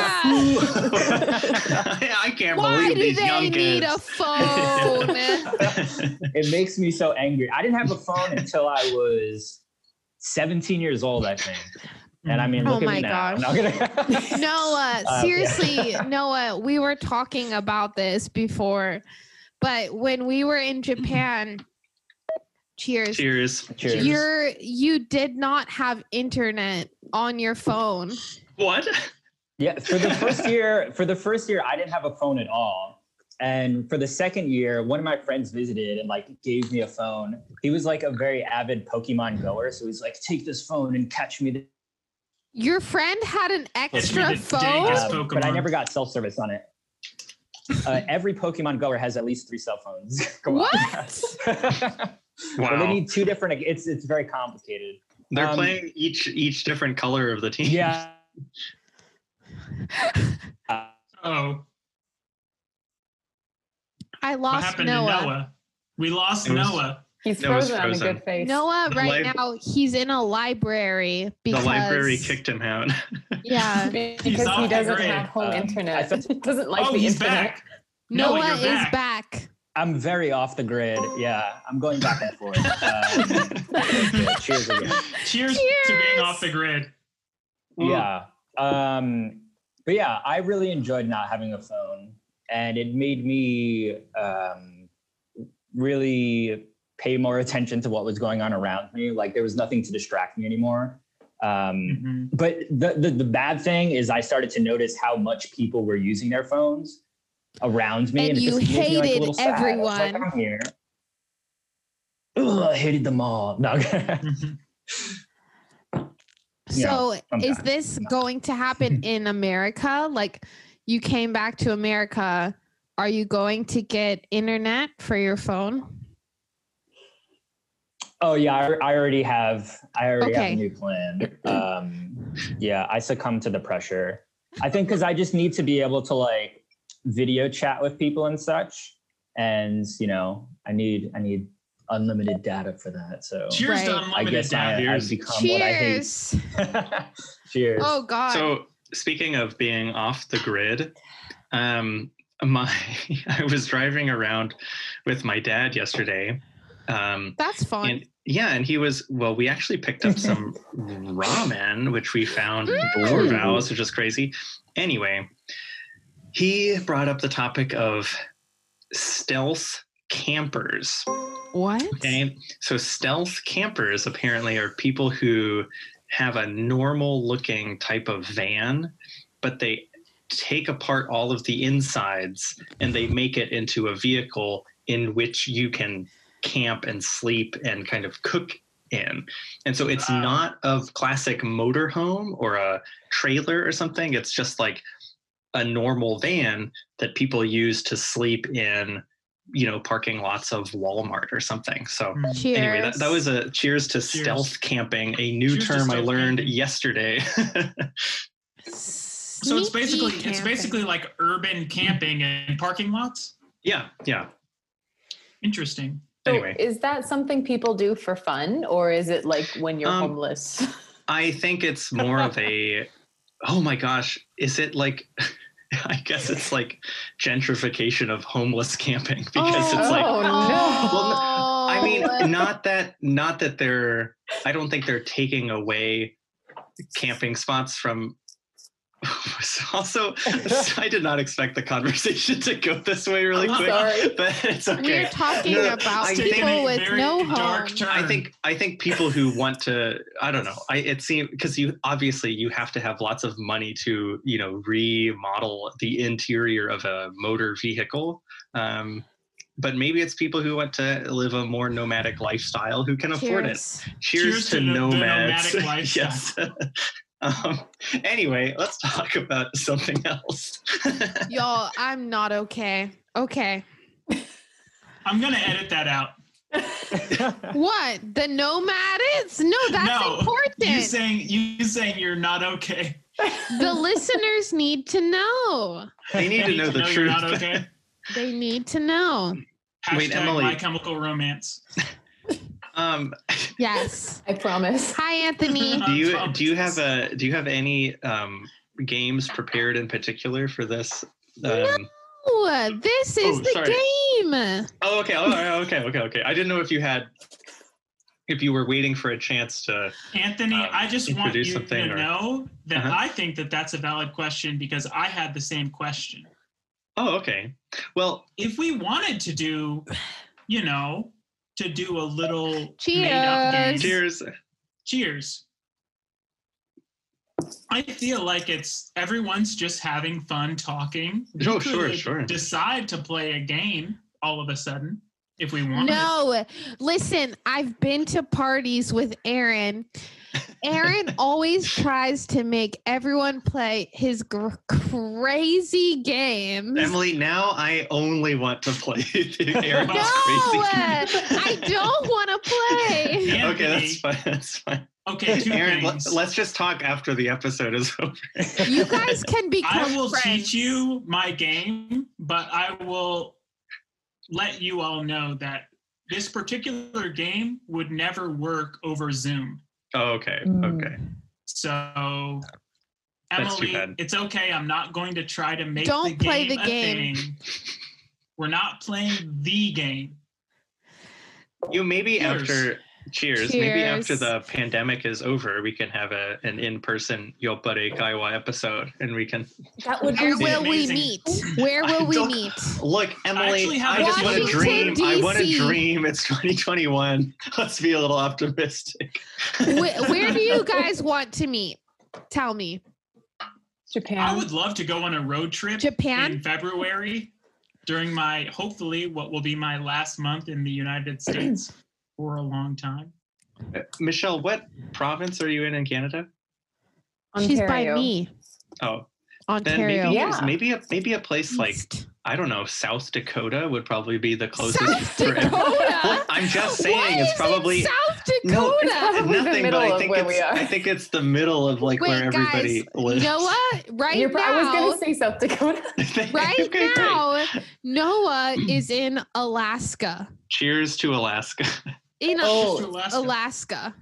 Yeah. I can't Why believe do these they young need kids. a phone? It makes me so angry. I didn't have a phone until I was seventeen years old, I think. And I mean, Oh look at my me now. gosh. I'm not gonna- Noah, Uh, seriously, Noah, we were talking about this before, but when we were in Japan, cheers, Cheers. Cheers. you're you did not have internet on your phone. What? Yeah, for the first year, for the first year, I didn't have a phone at all. And for the second year, one of my friends visited and like gave me a phone. He was like a very avid Pokemon goer, so he's like, "Take this phone and catch me." The- Your friend had an extra the phone. dankest Um, but I Pokemon. never got cell service on it. Uh, every Pokemon goer has at least three cell phones. Come on. What? But they Wow. need two different. It's it's very complicated. They're um, playing each each different color of the team. Yeah. Uh, Oh, I what lost happened Noah. to Noah? We lost It was- Noah. He's That was frozen on a frozen. good face. Noah, The right lib- now, he's in a library The because library kicked him out. Yeah, because off he the doesn't grid. have home Um, internet. I thought- He doesn't like Oh, the he's internet. back. Noah, Noah you're is back. back. I'm very off the grid. Yeah, I'm going back and forth. Um, yeah, cheers again. Cheers, to Cheers. being off the grid. Yeah. Um, but yeah, I really enjoyed not having a phone, and it made me um, really pay more attention to what was going on around me. Like there was nothing to distract me anymore. Um, Mhm. But the, the the bad thing is, I started to notice how much people were using their phones around me, And it you just made me, like, a hated little sad. I was like, everyone. I'm here. Ugh, I hated them all. No. Mhm. Yeah, So I'm is back. this going to happen in America? Like you came back to America. Are you going to get internet for your phone? Oh yeah, I, I already have. I already Okay. have a new plan. Um, yeah, I succumb to the pressure. I think because I just need to be able to like video chat with people and such, and you know, I need I need unlimited data for that. So Cheers Right. to I unlimited guess I, data. I've become what I hate. Cheers. Cheers. Oh God. So speaking of being off the grid, um, my I was driving around with my dad yesterday. Um, That's fun. and yeah, and he was well. We actually picked up some ramen, which we found in Dorval's, which is crazy. Anyway, he brought up the topic of stealth campers. What? Okay, so stealth campers apparently are people who have a normal looking type of van, but they take apart all of the insides and they make it into a vehicle in which you can camp and sleep and kind of cook in. And so it's Wow. not a classic motorhome or a trailer or something. It's just like a normal van that people use to sleep in, you know, parking lots of Walmart or something. So Mm. Cheers. anyway, that, that was a cheers to Cheers. stealth camping, a new Cheers to term I stealth learned camping. yesterday. So it's basically it's basically like urban camping in parking lots. yeah, yeah. Interesting. So Anyway. is that something people do for fun, or is it like when you're Um, homeless? I think it's more of a, oh my gosh, is it like, I guess it's like gentrification of homeless camping because it's like, Oh, no. Well, I mean, not that, not that they're, I don't think they're taking away camping spots from, also, I did not expect the conversation to go this way really I'm quick, sorry. but it's okay. We're talking No, about I Taking think- people a with very no dark home. turn. I think I think people who want to, I don't know. I it seems because you obviously you have to have lots of money to, you know, remodel the interior of a motor vehicle. Um, but maybe it's people who want to live a more nomadic lifestyle who can afford it. Cheers. Cheers, Cheers to, to the- the nomads. nomadic lifestyle. Yes. um, anyway, let's talk about something else. Y'all, I'm not okay. Okay. I'm gonna edit that out. What? The nomads? No, that's no, important. You saying you saying you're not okay. The listeners need to know. They need to know the you're truth. not okay. They need to know. Hashtag Wait, Emily. My Chemical Romance. Um, Yes. I promise. Hi, Anthony. do I you promise. do you have a do you have any um, games prepared in particular for this? Um, Oh, this is Oh, the sorry. game. oh, okay, oh, okay, okay, okay. I didn't know if you had if you were waiting for a chance to. Anthony, um, I just want introduce you something to or- know that Uh-huh. I think that that's a valid question because I had the same question. Oh, okay. Well, If we wanted to do, you know, to do a little made-up game, Cheers. cheers. cheers. I feel like it's everyone's just having fun talking. We Oh, sure, could sure. Decide to play a game all of a sudden if we wanted. No, listen, I've been to parties with Aaron. Aaron always tries to make everyone play his gr- crazy games. Emily, now I only want to play Aaron's no, crazy. I don't want to play. Anthony, Okay, that's fine. That's fine. Okay, two Aaron, let, things. let's just talk after the episode is over. You guys can become I will friends. teach you my game, but I will let you all know that this particular game would never work over Zoom. Oh, okay. Mm. Okay. So, That's too Emily, bad. it's okay. I'm not going to try to make Don't the play game the a game. thing. We're not playing the game. You maybe Cheers. after cheers, maybe after Cheers. the pandemic is over, we can have a an in-person Yopare Kaiwa episode and we can That would Where be will amazing. we meet? Where I will we don't- meet? look, Emily, actually have I just want to Washington, dream. I want to D C. dream. It's twenty twenty-one. Let's be a little optimistic. Where, where do you guys want to meet? Tell me. Japan. I would love to go on a road trip Japan? in February during my, hopefully, what will be my last month in the United States for a long time. Uh, Michelle, what province are you in in Canada? She's by Ontario. me. Oh, then Ontario. maybe Yeah. maybe a maybe a place like East. I don't know, South Dakota would probably be the closest. South for- Dakota. Well, I'm just saying Why it's is probably it South no, Dakota. it's probably the nothing. But middle I of think where it's we are. I think it's the middle of like Wait, where everybody guys, lives. you know what? Right You're, pro- I was now, going to say South Dakota. right Okay, great. now, Noah is in Alaska. Cheers to Alaska. In Oh, Alaska. Alaska. Alaska.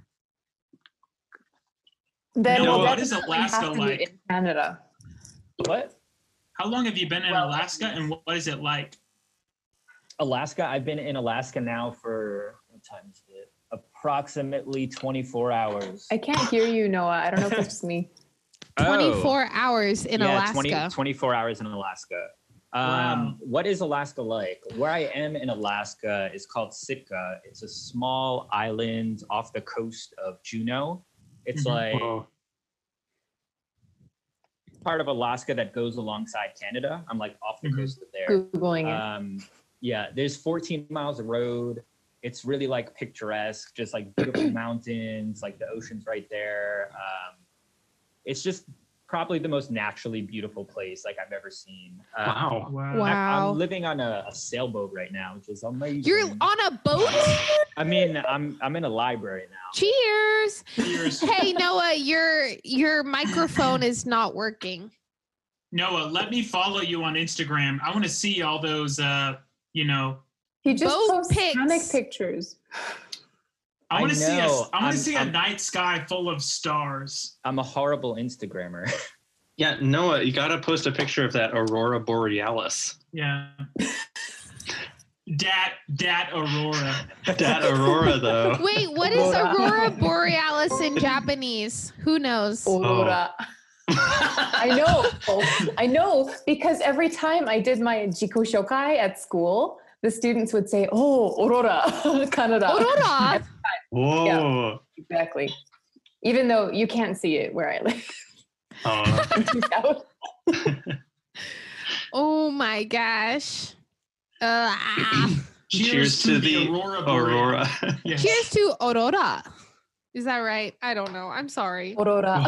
Then Noah, we'll what is definitely Alaska have to be like? in Canada. What? How long have you been in Well- Alaska, and what is it like? Alaska. I've been in Alaska now for what time is it? Approximately twenty-four hours. I can't hear you, Noah. I don't know if it's just me. twenty-four hours in Oh. yeah, Alaska. twenty, twenty-four hours in Alaska. Um, Wow. What is Alaska like? Where I am in Alaska is called Sitka. It's a small island off the coast of Juneau. It's Mhm. like Whoa. part of Alaska that goes alongside Canada. I'm like off the Mhm. coast of there. Googling it. Um, yeah, there's fourteen miles of road. It's really like picturesque, just like beautiful mountains, like the ocean's right there. Um, it's just probably the most naturally beautiful place like I've ever seen. Um, Wow. Wow. Wow. I, I'm living on a, a sailboat right now, which is amazing. You're on a boat? I mean, I'm I'm in a library now. Cheers. Cheers. Hey Noah, your your microphone is not working. Noah, let me follow you on Instagram. I want to see all those, uh, you know, He just boat posts pics. panic pictures. I want I to see a, know. I want I'm- to see a I'm- night sky full of stars. I'm a horrible Instagrammer. Yeah, Noah, you gotta post a picture of that aurora borealis. Yeah. Dat, dat Aurora. That aurora, though. Wait, what is Aurora. Aurora Borealis in Japanese? Who knows? Aurora. I know. I know because every time I did my jiku shokai at school, the students would say, "Oh, Aurora, Canada." Aurora. Whoa. Exactly. Even though you can't see it where I live. Oh. in South. Oh my gosh. Uh, ah. Cheers to the Aurora Aurora. Borealis. Yes. Cheers to Aurora. Is that right? I don't know. I'm sorry. Aurora.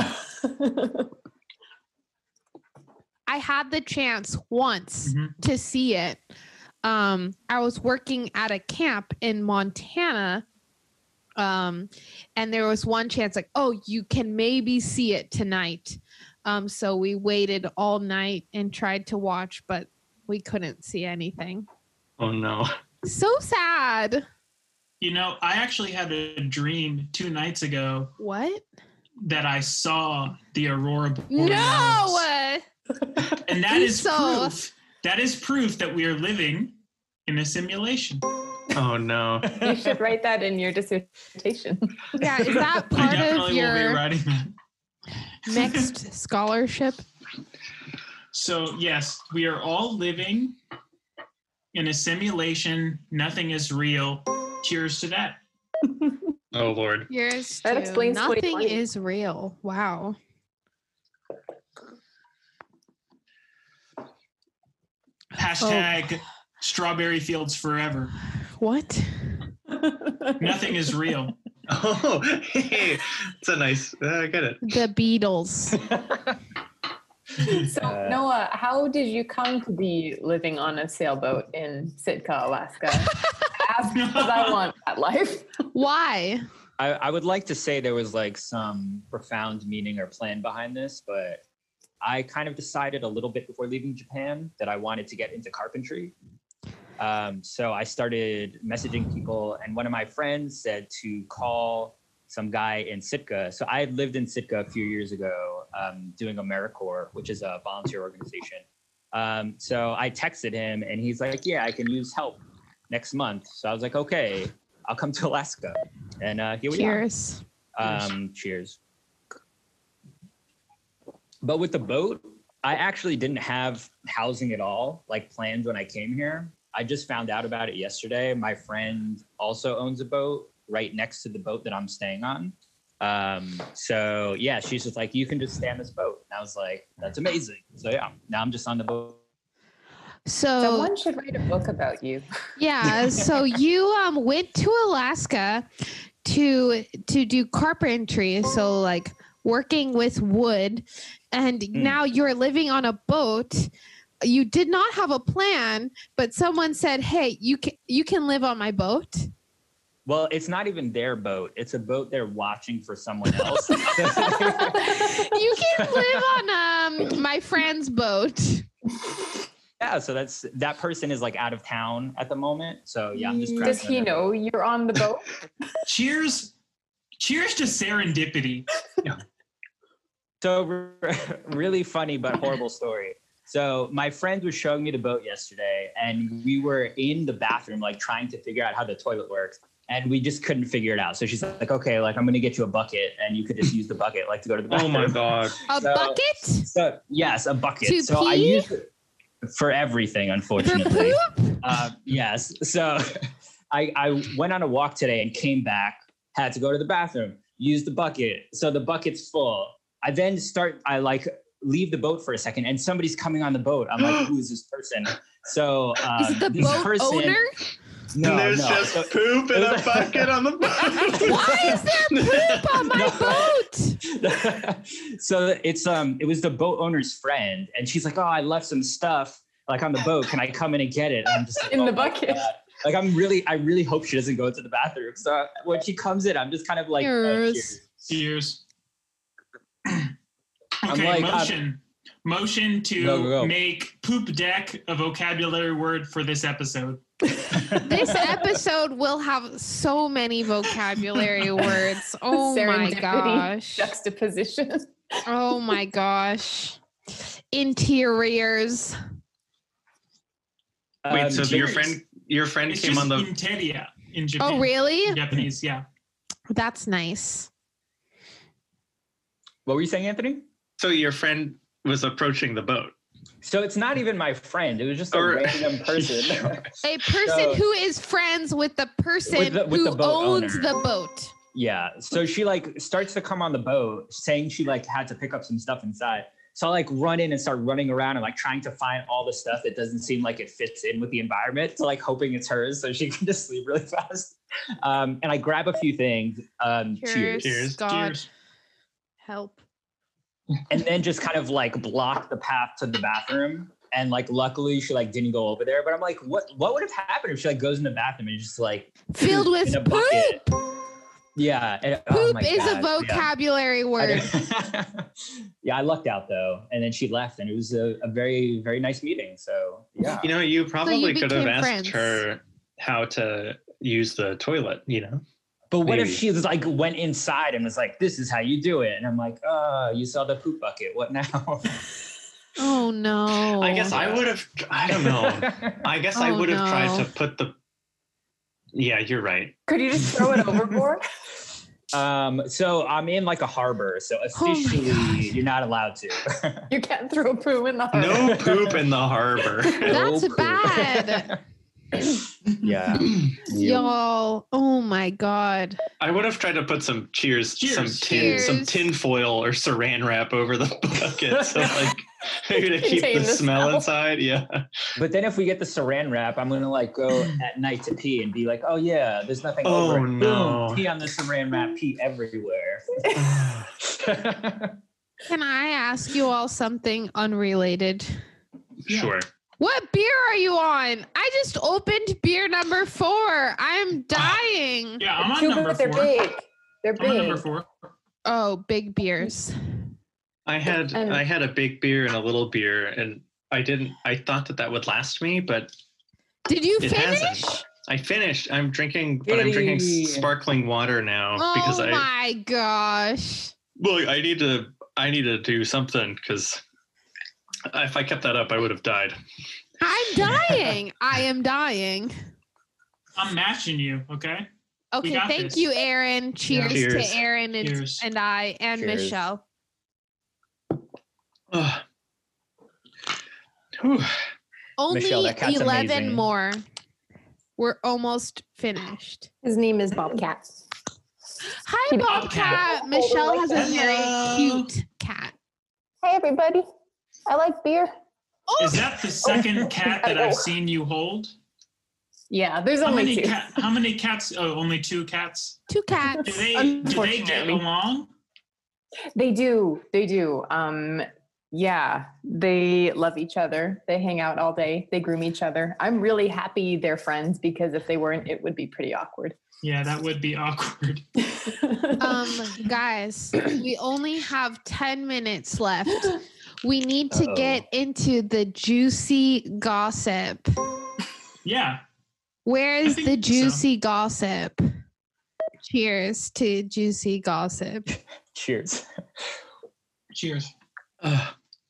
I had the chance once Mhm. to see it. Um, I was working at a camp in Montana. Um, and there was one chance like, oh, you can maybe see it tonight. Um, so we waited all night and tried to watch, but we couldn't see anything. Oh no. So sad. You know, I actually had a dream two nights ago What? that I saw the Aurora Borealis. No. And that is So- proof. That is proof that we are living in a simulation. Oh no. You should write that in your dissertation. Yeah, is that I part of definitely will be your writing that. next scholarship? So yes, we are all living in a simulation. Nothing is real. Cheers to that. Oh Lord. Yours That too. explains Nothing twenty twenty. is real. Wow. Hashtag strawberry fields forever. What? Nothing is real. Oh, hey, it's a nice. Uh, I get it. The Beatles. So Uh, Noah, how did you come to be living on a sailboat in Sitka, Alaska? Ask because I want that life. Why? I, I would like to say there was like some profound meaning or plan behind this, but I kind of decided a little bit before leaving Japan that I wanted to get into carpentry. Um, so I started messaging people, and one of my friends said to call some guy in Sitka. So I had lived in Sitka a few years ago um, doing AmeriCorps, which is a volunteer organization. Um, so I texted him, and he's like, yeah, I can use help next month. So I was like, okay, I'll come to Alaska. And uh, here we are. Cheers. Um, cheers. But with the boat, I actually didn't have housing at all, like planned when I came here. I just found out about it yesterday. My friend also owns a boat right next to the boat that I'm staying on. Um, so yeah, she's just like, you can just stay on this boat. And I was like, that's amazing. So yeah, now I'm just on the boat. So Someone should write a book about you. yeah, so you um went to Alaska to to do carpentry, so like working with wood, and now you're living on a boat. You did not have a plan, but someone said, "Hey, you can you can live on my boat." Well, it's not even their boat. It's a boat they're watching for someone else. You can live on um my friend's boat. yeah, so that's that person is like out of town at the moment. So yeah, I'm just. Does he know you're on the boat? Cheers, cheers to serendipity. So really funny but horrible story. So my friend was showing me the boat yesterday, and we were in the bathroom, like trying to figure out how the toilet works, and we just couldn't figure it out. So she's like, "Okay, like I'm gonna get you a bucket, and you could just use the bucket, like to go to the Oh bathroom." my god. A So- bucket So yes, a bucket. To so I pee? use it for everything, for unfortunately. poop? Uh, yes. So I, I went on a walk today and came back, had to go to the bathroom, use the bucket. So the bucket's full. I then start, I like leave the boat for a second and somebody's coming on the boat. I'm like, who is this person? So um, Is it the this boat person, owner? No, and there's no. just So- poop in a bucket on the boat. Why is there poop on my No. boat? So it's um it was the boat owner's friend, and she's like, "Oh, I left some stuff like on the boat. Can I come in and get it?" And I'm just like, In "Oh the my bucket." God." Like I'm really, I really hope she doesn't go to the bathroom. So when she comes in, I'm just kind of like, oh, Cheers. cheers. Cheers. I'm Okay, like, I'm- motion. Motion to Go, go, go. make poop deck a vocabulary word for this episode. This episode will have so many vocabulary words. Oh my Serendipity. gosh. Juxtaposition. Oh my gosh. Interiors. Wait, Um, so cheers. your friend your friend It's came just on the interia in Japan. Oh, really? In Japanese, yeah. That's nice. what were you saying, Anthony? so your friend was approaching the boat. So it's not even my friend. It was just a Or- random person. A person So- who is friends with the person With the- with who the boat owns owner. the boat. Yeah. So she like starts to come on the boat saying she like had to pick up some stuff inside. So I like run in and start running around and like trying to find all the stuff that doesn't seem like it fits in with the environment. So like hoping it's hers so she can just sleep really fast. Um, and I grab a few things. Um, cheers. Cheers. God Cheers. help. And then just kind of like block the path to the bathroom. And like luckily she like didn't go over there. But I'm like, what what would have happened if she like goes in the bathroom and just like Filled with in a poop. bucket? Yeah. And, oh Poop my is God, a yeah. vocabulary word. Yeah, I lucked out though, and then she left, and it was a, a very, very nice meeting. So yeah, You know, you probably could have became asked friends. her how to use the toilet, you know? but what if maybe. she was like went inside and was like, "This is how you do it," and I'm like, "Oh, you saw the poop bucket. What now?" Oh no. I guess I would have I don't know. I guess I Oh, would have tried no. to put the Yeah, you're right. Could you just throw it overboard? um, so I'm in like a harbor, so Oh my officially gosh. you're not allowed to. You can't throw a poo in the harbor. No poop in the harbor. That's No poop. bad. Yeah. Y'all. Oh my God. I would have tried to put some cheers, Cheers. some tin, some Cheers. tin foil or saran wrap over the bucket, so like maybe to keep Contain the, the smell, smell. inside. Yeah. But then if we get the saran wrap, I'm gonna like go at night to pee and be like, "Oh yeah, there's nothing Oh, over it. no. Boom, pee on the saran wrap, pee everywhere." Can I ask you all something unrelated? Sure. What beer are you on? I just opened beer number four. I'm dying. Yeah, I'm on Too number bad they're four. big. They're I'm on number big. four. Oh, big beers. I had And- I had a big beer and a little beer, and I didn't. I thought that that would last me, but Did you it finish? hasn't. I finished. I'm drinking, but I'm drinking Yay. sparkling water now because Oh I my gosh. well, I need to. I need to do something because if I kept that up, I would have died. I'm dying. I am dying. I'm matching you, okay? Okay, got thank this. you, Aaron. Cheers, Cheers. to Aaron and, Cheers. and I and Cheers. Michelle. Ugh. Whew. Only Michelle, that cat's eleven amazing. more. We're almost finished. His name is Bobcat. Hi, Keep- Bobcat. Oh, Michelle has a Hello. very cute cat. Hey everybody, I like beer. Oh, Is that the second cat that I've seen you hold? Yeah, there's How only many two. cat? How many cats? Oh, only two cats. two cats. Do they do they get Unfortunately. along? They do. They do. Um, yeah, they love each other. They hang out all day. They groom each other. I'm really happy they're friends because if they weren't, it would be pretty awkward. Yeah, that would be awkward. Um, guys, we only have ten minutes left. we need to Uh-oh. get into the juicy gossip. Yeah. Where is think the so. juicy gossip? Cheers to juicy gossip. Cheers. Cheers. Uh,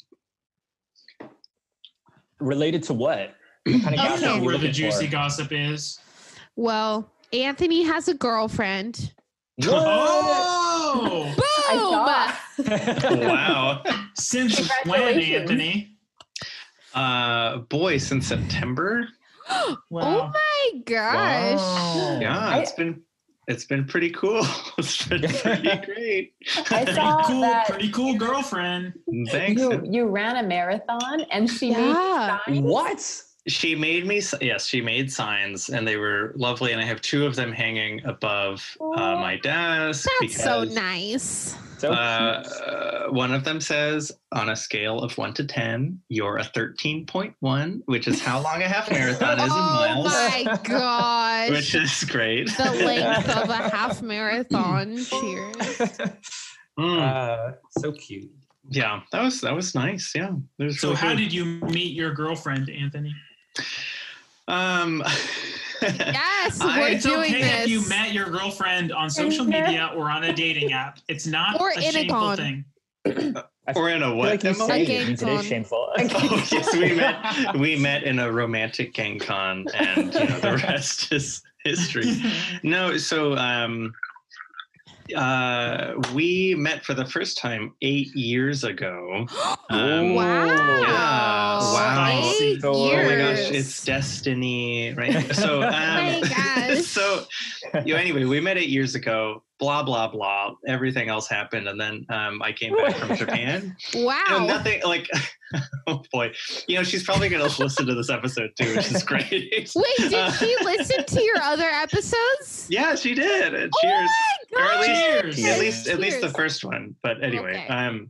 Related to what? What kind of I Okay. don't gossip know are you where the looking juicy for? gossip is. Well, Anthony has a girlfriend. What? Oh! I Boom! saw. wow. Since when, Congratulations. Anthony? Uh, boy, since September. Oh Wow. my gosh. Wow. Yeah, I- it's been it's been pretty cool. It's been pretty great. I Pretty saw cool, that pretty cool girlfriend. Thanks. you you ran a marathon and she Yeah. made signs. What? She made me, s- yes, she made signs and they were lovely. And I have two of them hanging above uh, my desk. That's so because, nice. So Uh, cute. uh, one of them says, on a scale of one to ten, you're a thirteen point one, which is how long a half marathon is in Oh miles, my gosh. which is great. the length of a half marathon. Cheers. Mm, Uh, so cute. yeah, that was that was nice. Yeah. It was So really how good. did you meet your girlfriend, Anthony? Um, Yes, I- we're It's doing okay this. if you met your girlfriend on social media or on a dating app. It's not Or a in a shameful con. thing. I or in a feel what? like you Emma? say A it means it gang is con. shameful. Oh yes, we met. We met in a romantic gang con, and you know the rest is history. No, so um, uh, we met for the first time eight years ago. Um, wow. Yeah, wow. Eight So- Oh my years. gosh, it's destiny, right? So, um, my gosh. so you know, anyway, we met eight years ago. Blah blah blah. Everything else happened, and then um, I came back from Japan. Wow. You know, nothing like. Oh boy, you know she's probably going to listen to this episode too, which is great. Wait, did Uh, she listen to your other episodes? Yeah, she did. And Oh cheers. my Or at least- Cheers. At least, at least the Cheers. first one. But anyway, Okay. um,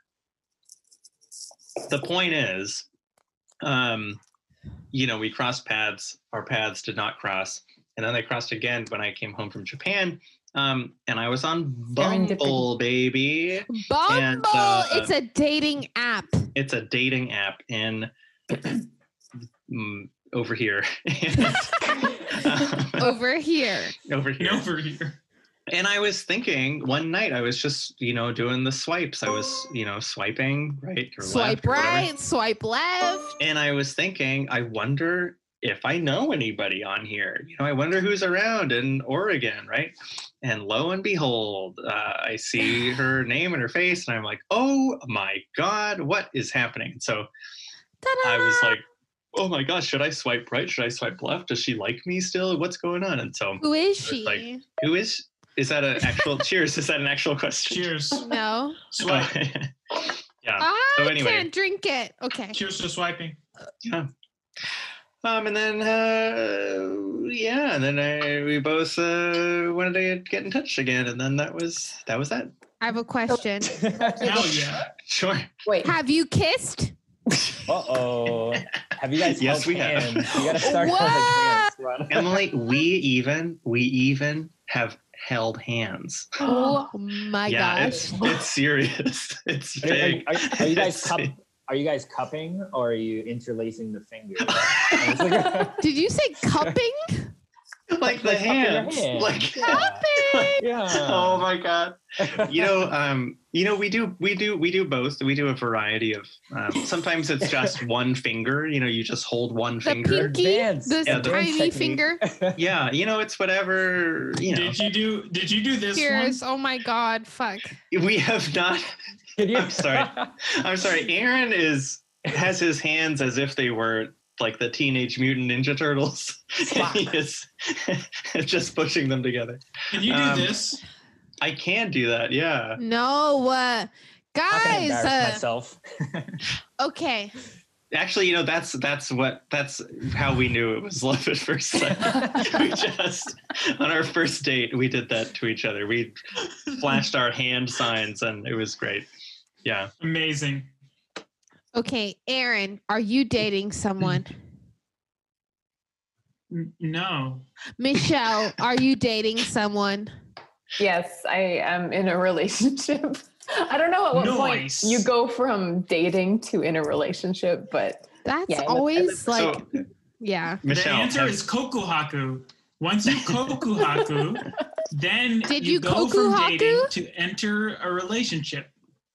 the point is, um, you know, we crossed paths. Our paths did not cross, and then they crossed again when I came home from Japan. Um, and I was on Bumble, Serendipity. baby. Bumble. And, uh, it's a dating app. It's a dating app in mm, over here. And, Over here. over here. Over here. And I was thinking one night, I was just, you know, doing the swipes. I was, you know, swiping right or Swipe left or whatever. right, swipe left. And I was thinking, I wonder if I know anybody on here. You know, I wonder who's around in Oregon, right? And lo and behold, uh, I see her name and her face, and I'm like, oh my God, what is happening? So Ta-da! I was like, oh my gosh, should I swipe right? Should I swipe left? Does she like me still? What's going on? And so, Who is was she? like, who is? Is that an actual cheers? Is that an actual question? Cheers. no. Swipe. yeah. I So anyway. can't drink it. Okay. Cheers to swiping. Yeah. Um, and then uh, yeah, and then I, we both uh, wanted to get in touch again, and then that was that was that. I have a question. Hell yeah. Sure. Wait, Have you kissed? Uh oh. Have you guys Yes, held we have. hands? You gotta start What? holding hands. Ron. Emily, we even we even have held hands. Oh my yeah, gosh. it's it's serious. It's Are, are- big. are- are you guys It's cup, big. are you guys cupping or are you interlacing the fingers? It's like- Did you say cupping? like the like cupping your hands. hand. Like Yeah. Yeah. oh my god. You know, um, you know, we do we do we do both. We do a variety of um, sometimes it's just one finger, you know, you just hold one The finger. pinky? Advanced- The Yeah, the tiny technique. finger? Yeah, you know, it's whatever, you know. Did you do did you do this Cheers. Oh my God. Fuck. We have not Can you- I'm sorry. I'm sorry. Aaron is has his hands as if they were like the Teenage Mutant Ninja Turtles. He is just pushing them together. one? Can you do Um, this? I can do that. Yeah. No. Uh, I'm not gonna guys. embarrass Uh, myself. okay. Actually, you know, that's that's what that's how we knew it was love at first sight. We just on our first date we did that to each other. We flashed our hand signs and it was great. Yeah. Amazing. Okay. Aaron, are you dating someone? N- No. Michelle, are you dating someone? yes, I am in a relationship. I don't know at what Nice. point you go from dating to in a relationship, but That's Yeah, I look- I always look- like, So, yeah. Michelle, the answer have- is kokuhaku. Once you kokuhaku, then Did you, you go from kokuhaku? dating to enter a relationship.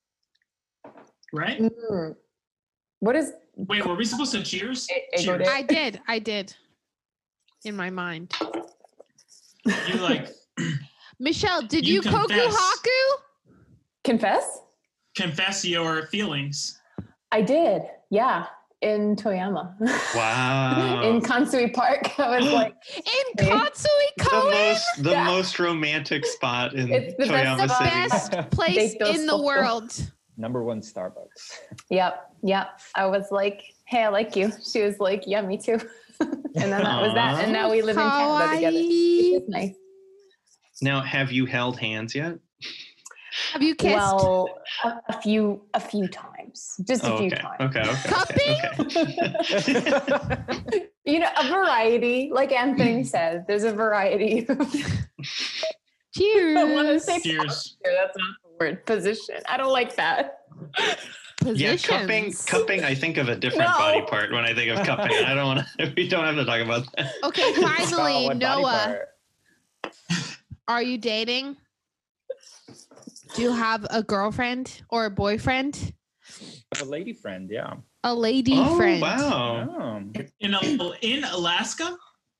Right? Mm. what is Wait, were we supposed to cheers? A- ego Cheers. date? I did. I did. In my mind. You like Michelle, did You you, confess. koku haku? confess? confess your feelings. I did, yeah, in Toyama. Wow. in Kansui Park. I was like, In Hey. Katsui the Koen? most the Yeah. most romantic spot in It's the best Toyama spot. City. Best place They feel in the so- world. Number one Starbucks. yep, yep. I was like, hey, I like you. She was like, yeah, me too. and then that was that. And now we live in Canada together. Kawaii. It's nice. Now, have you held hands yet? Have you kissed? Well, a, a few, a few times, just a Oh, few okay. times. Okay. Okay. Cupping? Okay. okay. You know, a variety, like Anthony said, there's a variety. Cheers. I want to say Cheers. posture. That's not the word. Position. I don't like that. Yeah, cupping. Positions. Cupping. I think of a different No. body part when I think of cupping. I don't want to. We don't have to talk about that. Okay, finally, What body Noah, part? are you dating? Do you have a girlfriend or a boyfriend? A lady friend, yeah. A lady Oh friend. wow! Oh. In a, in Alaska?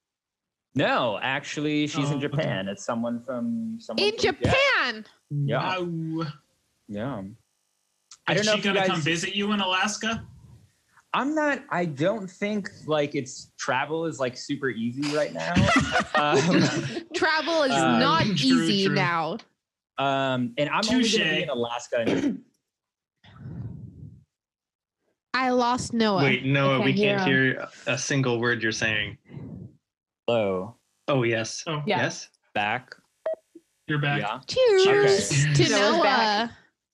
No, actually, she's Oh, in okay. Japan. It's someone from someone In from- Japan. Yeah, Wow. yeah. I Is don't know she if you gonna guys. come visit you in Alaska? I'm not. I don't think like it's travel is like super easy right now. um, Travel is Uh, not true, easy true. now. um, and I'm only going to be Touche. in Alaska. in- I lost Noah. Wait, Noah, I we can't can't hear hear a single word you're saying. Hello, Oh yes. Oh, Yeah. Yes. back. you're back. Yeah. Cheers Cheers. to Noah's Noah. back.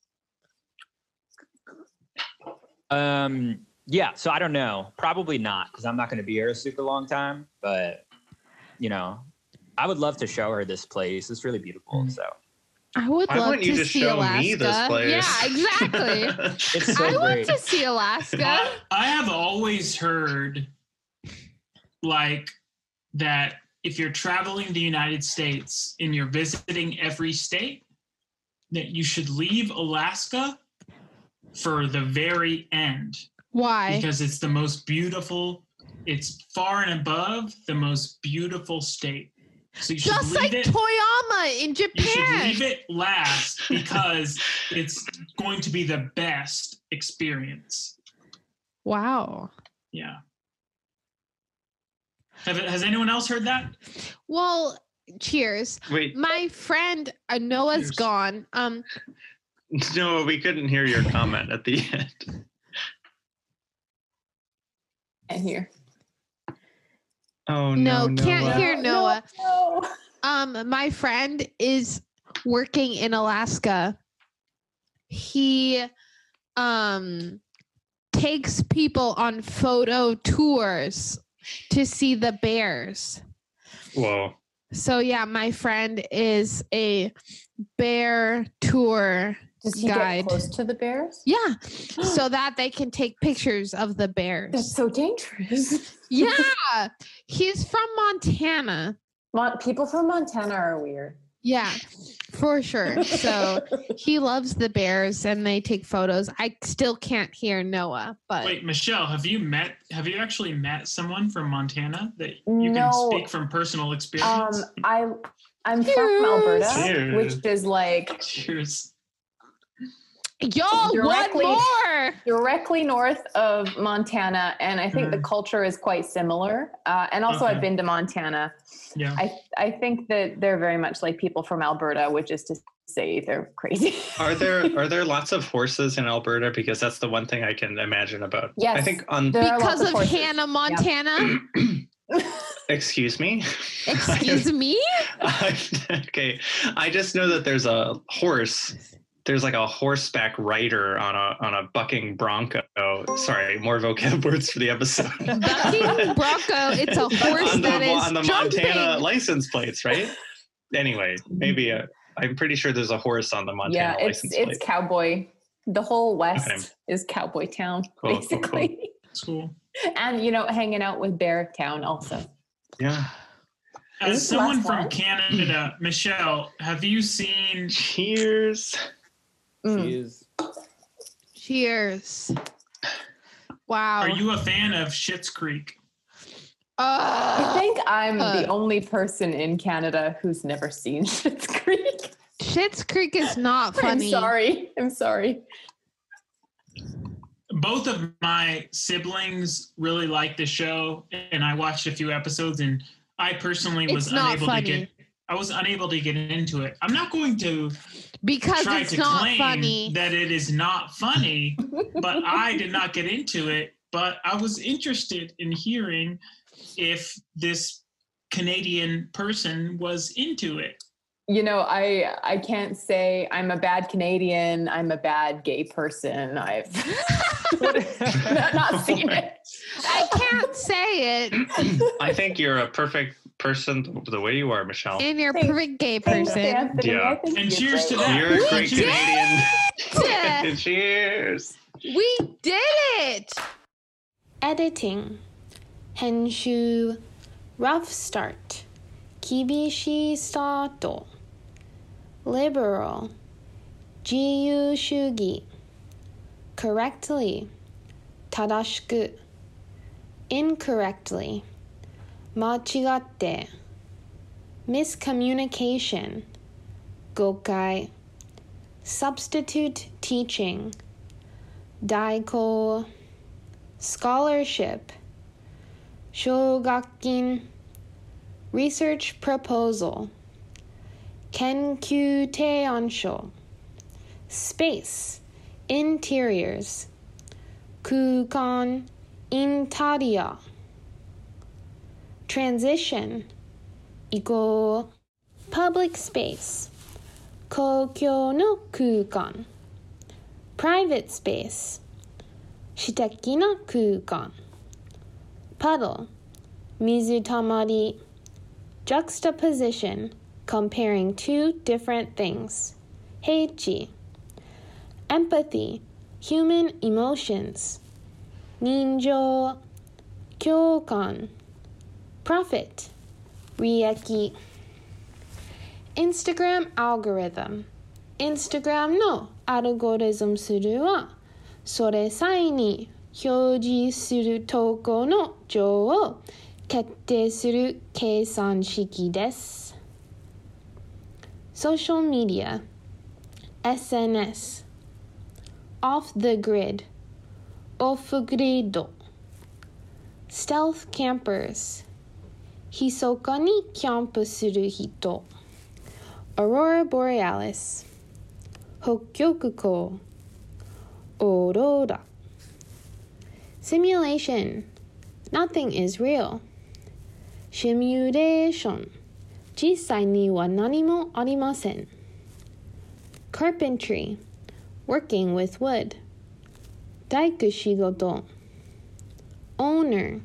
Um. Yeah. So I don't know. Probably not because I'm not going to be here a super long time. But you know, I would love to show her this place. It's really beautiful. So I would Why love wouldn't to you just see show Alaska. me this place? Yeah, exactly. it's so I want great. to see Alaska. I, I have always heard like that if you're traveling the United States and you're visiting every state, that you should leave Alaska for the very end Why? because it's the most beautiful, it's far and above the most beautiful state. So you should Just leave like it. Toyama in You should Japan. leave it last because it's going to be the best experience. Wow. Yeah. Have, has anyone else heard that? Well, cheers. Wait, My friend uh, Noah's Cheers. gone. Um, no, we couldn't hear your comment at the end. And here. Oh no, no, can't Noah. hear Noah. No. Um, my friend is working in Alaska. He um takes people on photo tours to see the bears. Whoa. So yeah, my friend is a bear tour. Does he Guide. get close to the bears? Yeah, so that they can take pictures of the That's bears. so dangerous. Yeah, he's from Montana. Mon- people from Montana are weird. Yeah, for sure. So he loves the bears and they take photos. I still can't hear Noah, but Wait, Michelle, have you met, have you actually met someone from Montana that you No. can speak from personal Um, experience? I I'm Cheers. from Alberta, Cheers. which is like Cheers. y'all, Directly- one more. directly north of Montana, and I think the Mm. culture is quite similar. Uh, and also, Okay. I've been to Montana. Yeah. I I think that they're very much like people from Alberta, which is to say they're crazy. Are there are there lots of horses in Alberta? Because that's the one thing I can imagine about. Yes. I think on. There are Because lots of horses. Hannah, Montana. Excuse me. Excuse me? I, okay, I just know that there's a horse. There's like a horseback rider on a on a bucking bronco. Sorry, more vocab words for the episode. Bucking bronco. It's a horse on the, that is on the jumping. Montana license plates, right? Anyway, maybe uh, I'm pretty sure there's a horse on the Montana Yeah, it's license plate. it's cowboy. The whole West Okay. is cowboy town, Cool, cool, basically. cool. Cool. And, you know, hanging out with Bear Town also. Yeah. As Is this the someone last from one? Canada, Michelle, have you seen? Cheers. Mm. Cheers. Cheers. Wow. Are you a fan of Schitt's Creek? I Uh, think I'm the Uh. only person in Canada who's never seen Schitt's Creek. Schitt's Creek is not funny. I'm sorry. I'm sorry. Both of my siblings really liked the show, and I watched a few episodes, and I personally was It's not unable funny. to get. I was unable to get into it. I'm not going to Because try it's to not claim funny. that it is not funny, but I did not get into it. But I was interested in hearing if this Canadian person was into it. You know, I I can't say I'm a bad Canadian. I'm a bad gay person. I've not, not seen it. I can't say it. I think you're a perfect person the way you are, Michelle. And you're a Thanks. perfect gay Thanks, person. Anthony. Yeah. I think And you're cheers to great. that. You're a We great did Canadian. Cheers. We did it! Editing. 編集 Rough start. 厳しいスタート Liberal. 自由主義 Correctly. 正しく Incorrectly. 間違って Miscommunication. 誤解 Substitute teaching. 代行 Scholarship. 奨学金 Research proposal. 研究提案書 Space. Interiors. 空間 Interior. Transition. 移行 Public space. 公共の空間 Private space. 私的な空間 Puddle. 水たまり Juxtaposition. Comparing two different things. 平地 Empathy. Human emotions. 人情 共感 Profit. 利益 Instagram algorithm. Instagram のアルゴリズム数はそれ際に表示する投稿の量を決定する計算式です。Social media. エスエヌエス Off the grid. Off grid. Stealth campers. 密かにキャンプする人 Aurora borealis. 北極光 Aurora. Simulation. Nothing is real. Simulation. 実際には何もありません Carpentry. Working with wood. 大工仕事 Owner.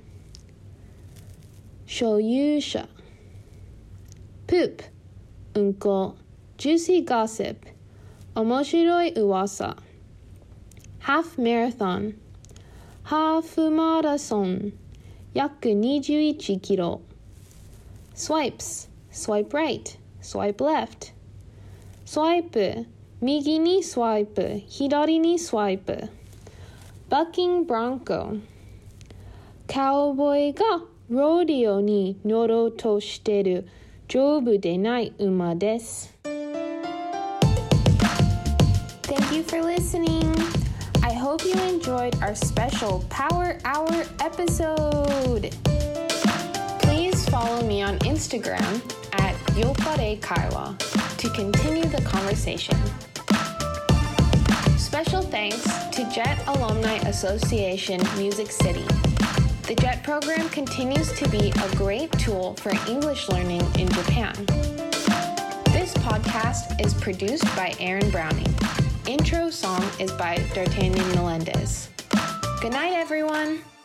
所有者 Poop. うんこ Juicy gossip. 面白い噂 Half marathon. ハーフマラソン約にじゅういちキロ Swipes. Swipe right. Swipe left. Swipe. 右にスワイプ左にスワイプ Bucking Bronco. カウボーイがロディオに乗ろうとしてる丈夫でない馬です Thank you for listening. I hope you enjoyed our special Power Hour episode. Please follow me on Instagram at Yopare Kaiwa to continue the conversation. Special thanks to Jet Alumni Association Music City. The Jet program continues to be a great tool for English learning in Japan. This podcast is produced by Aaron Browning. Intro song is by D'Artagnan Melendez. Good night, everyone.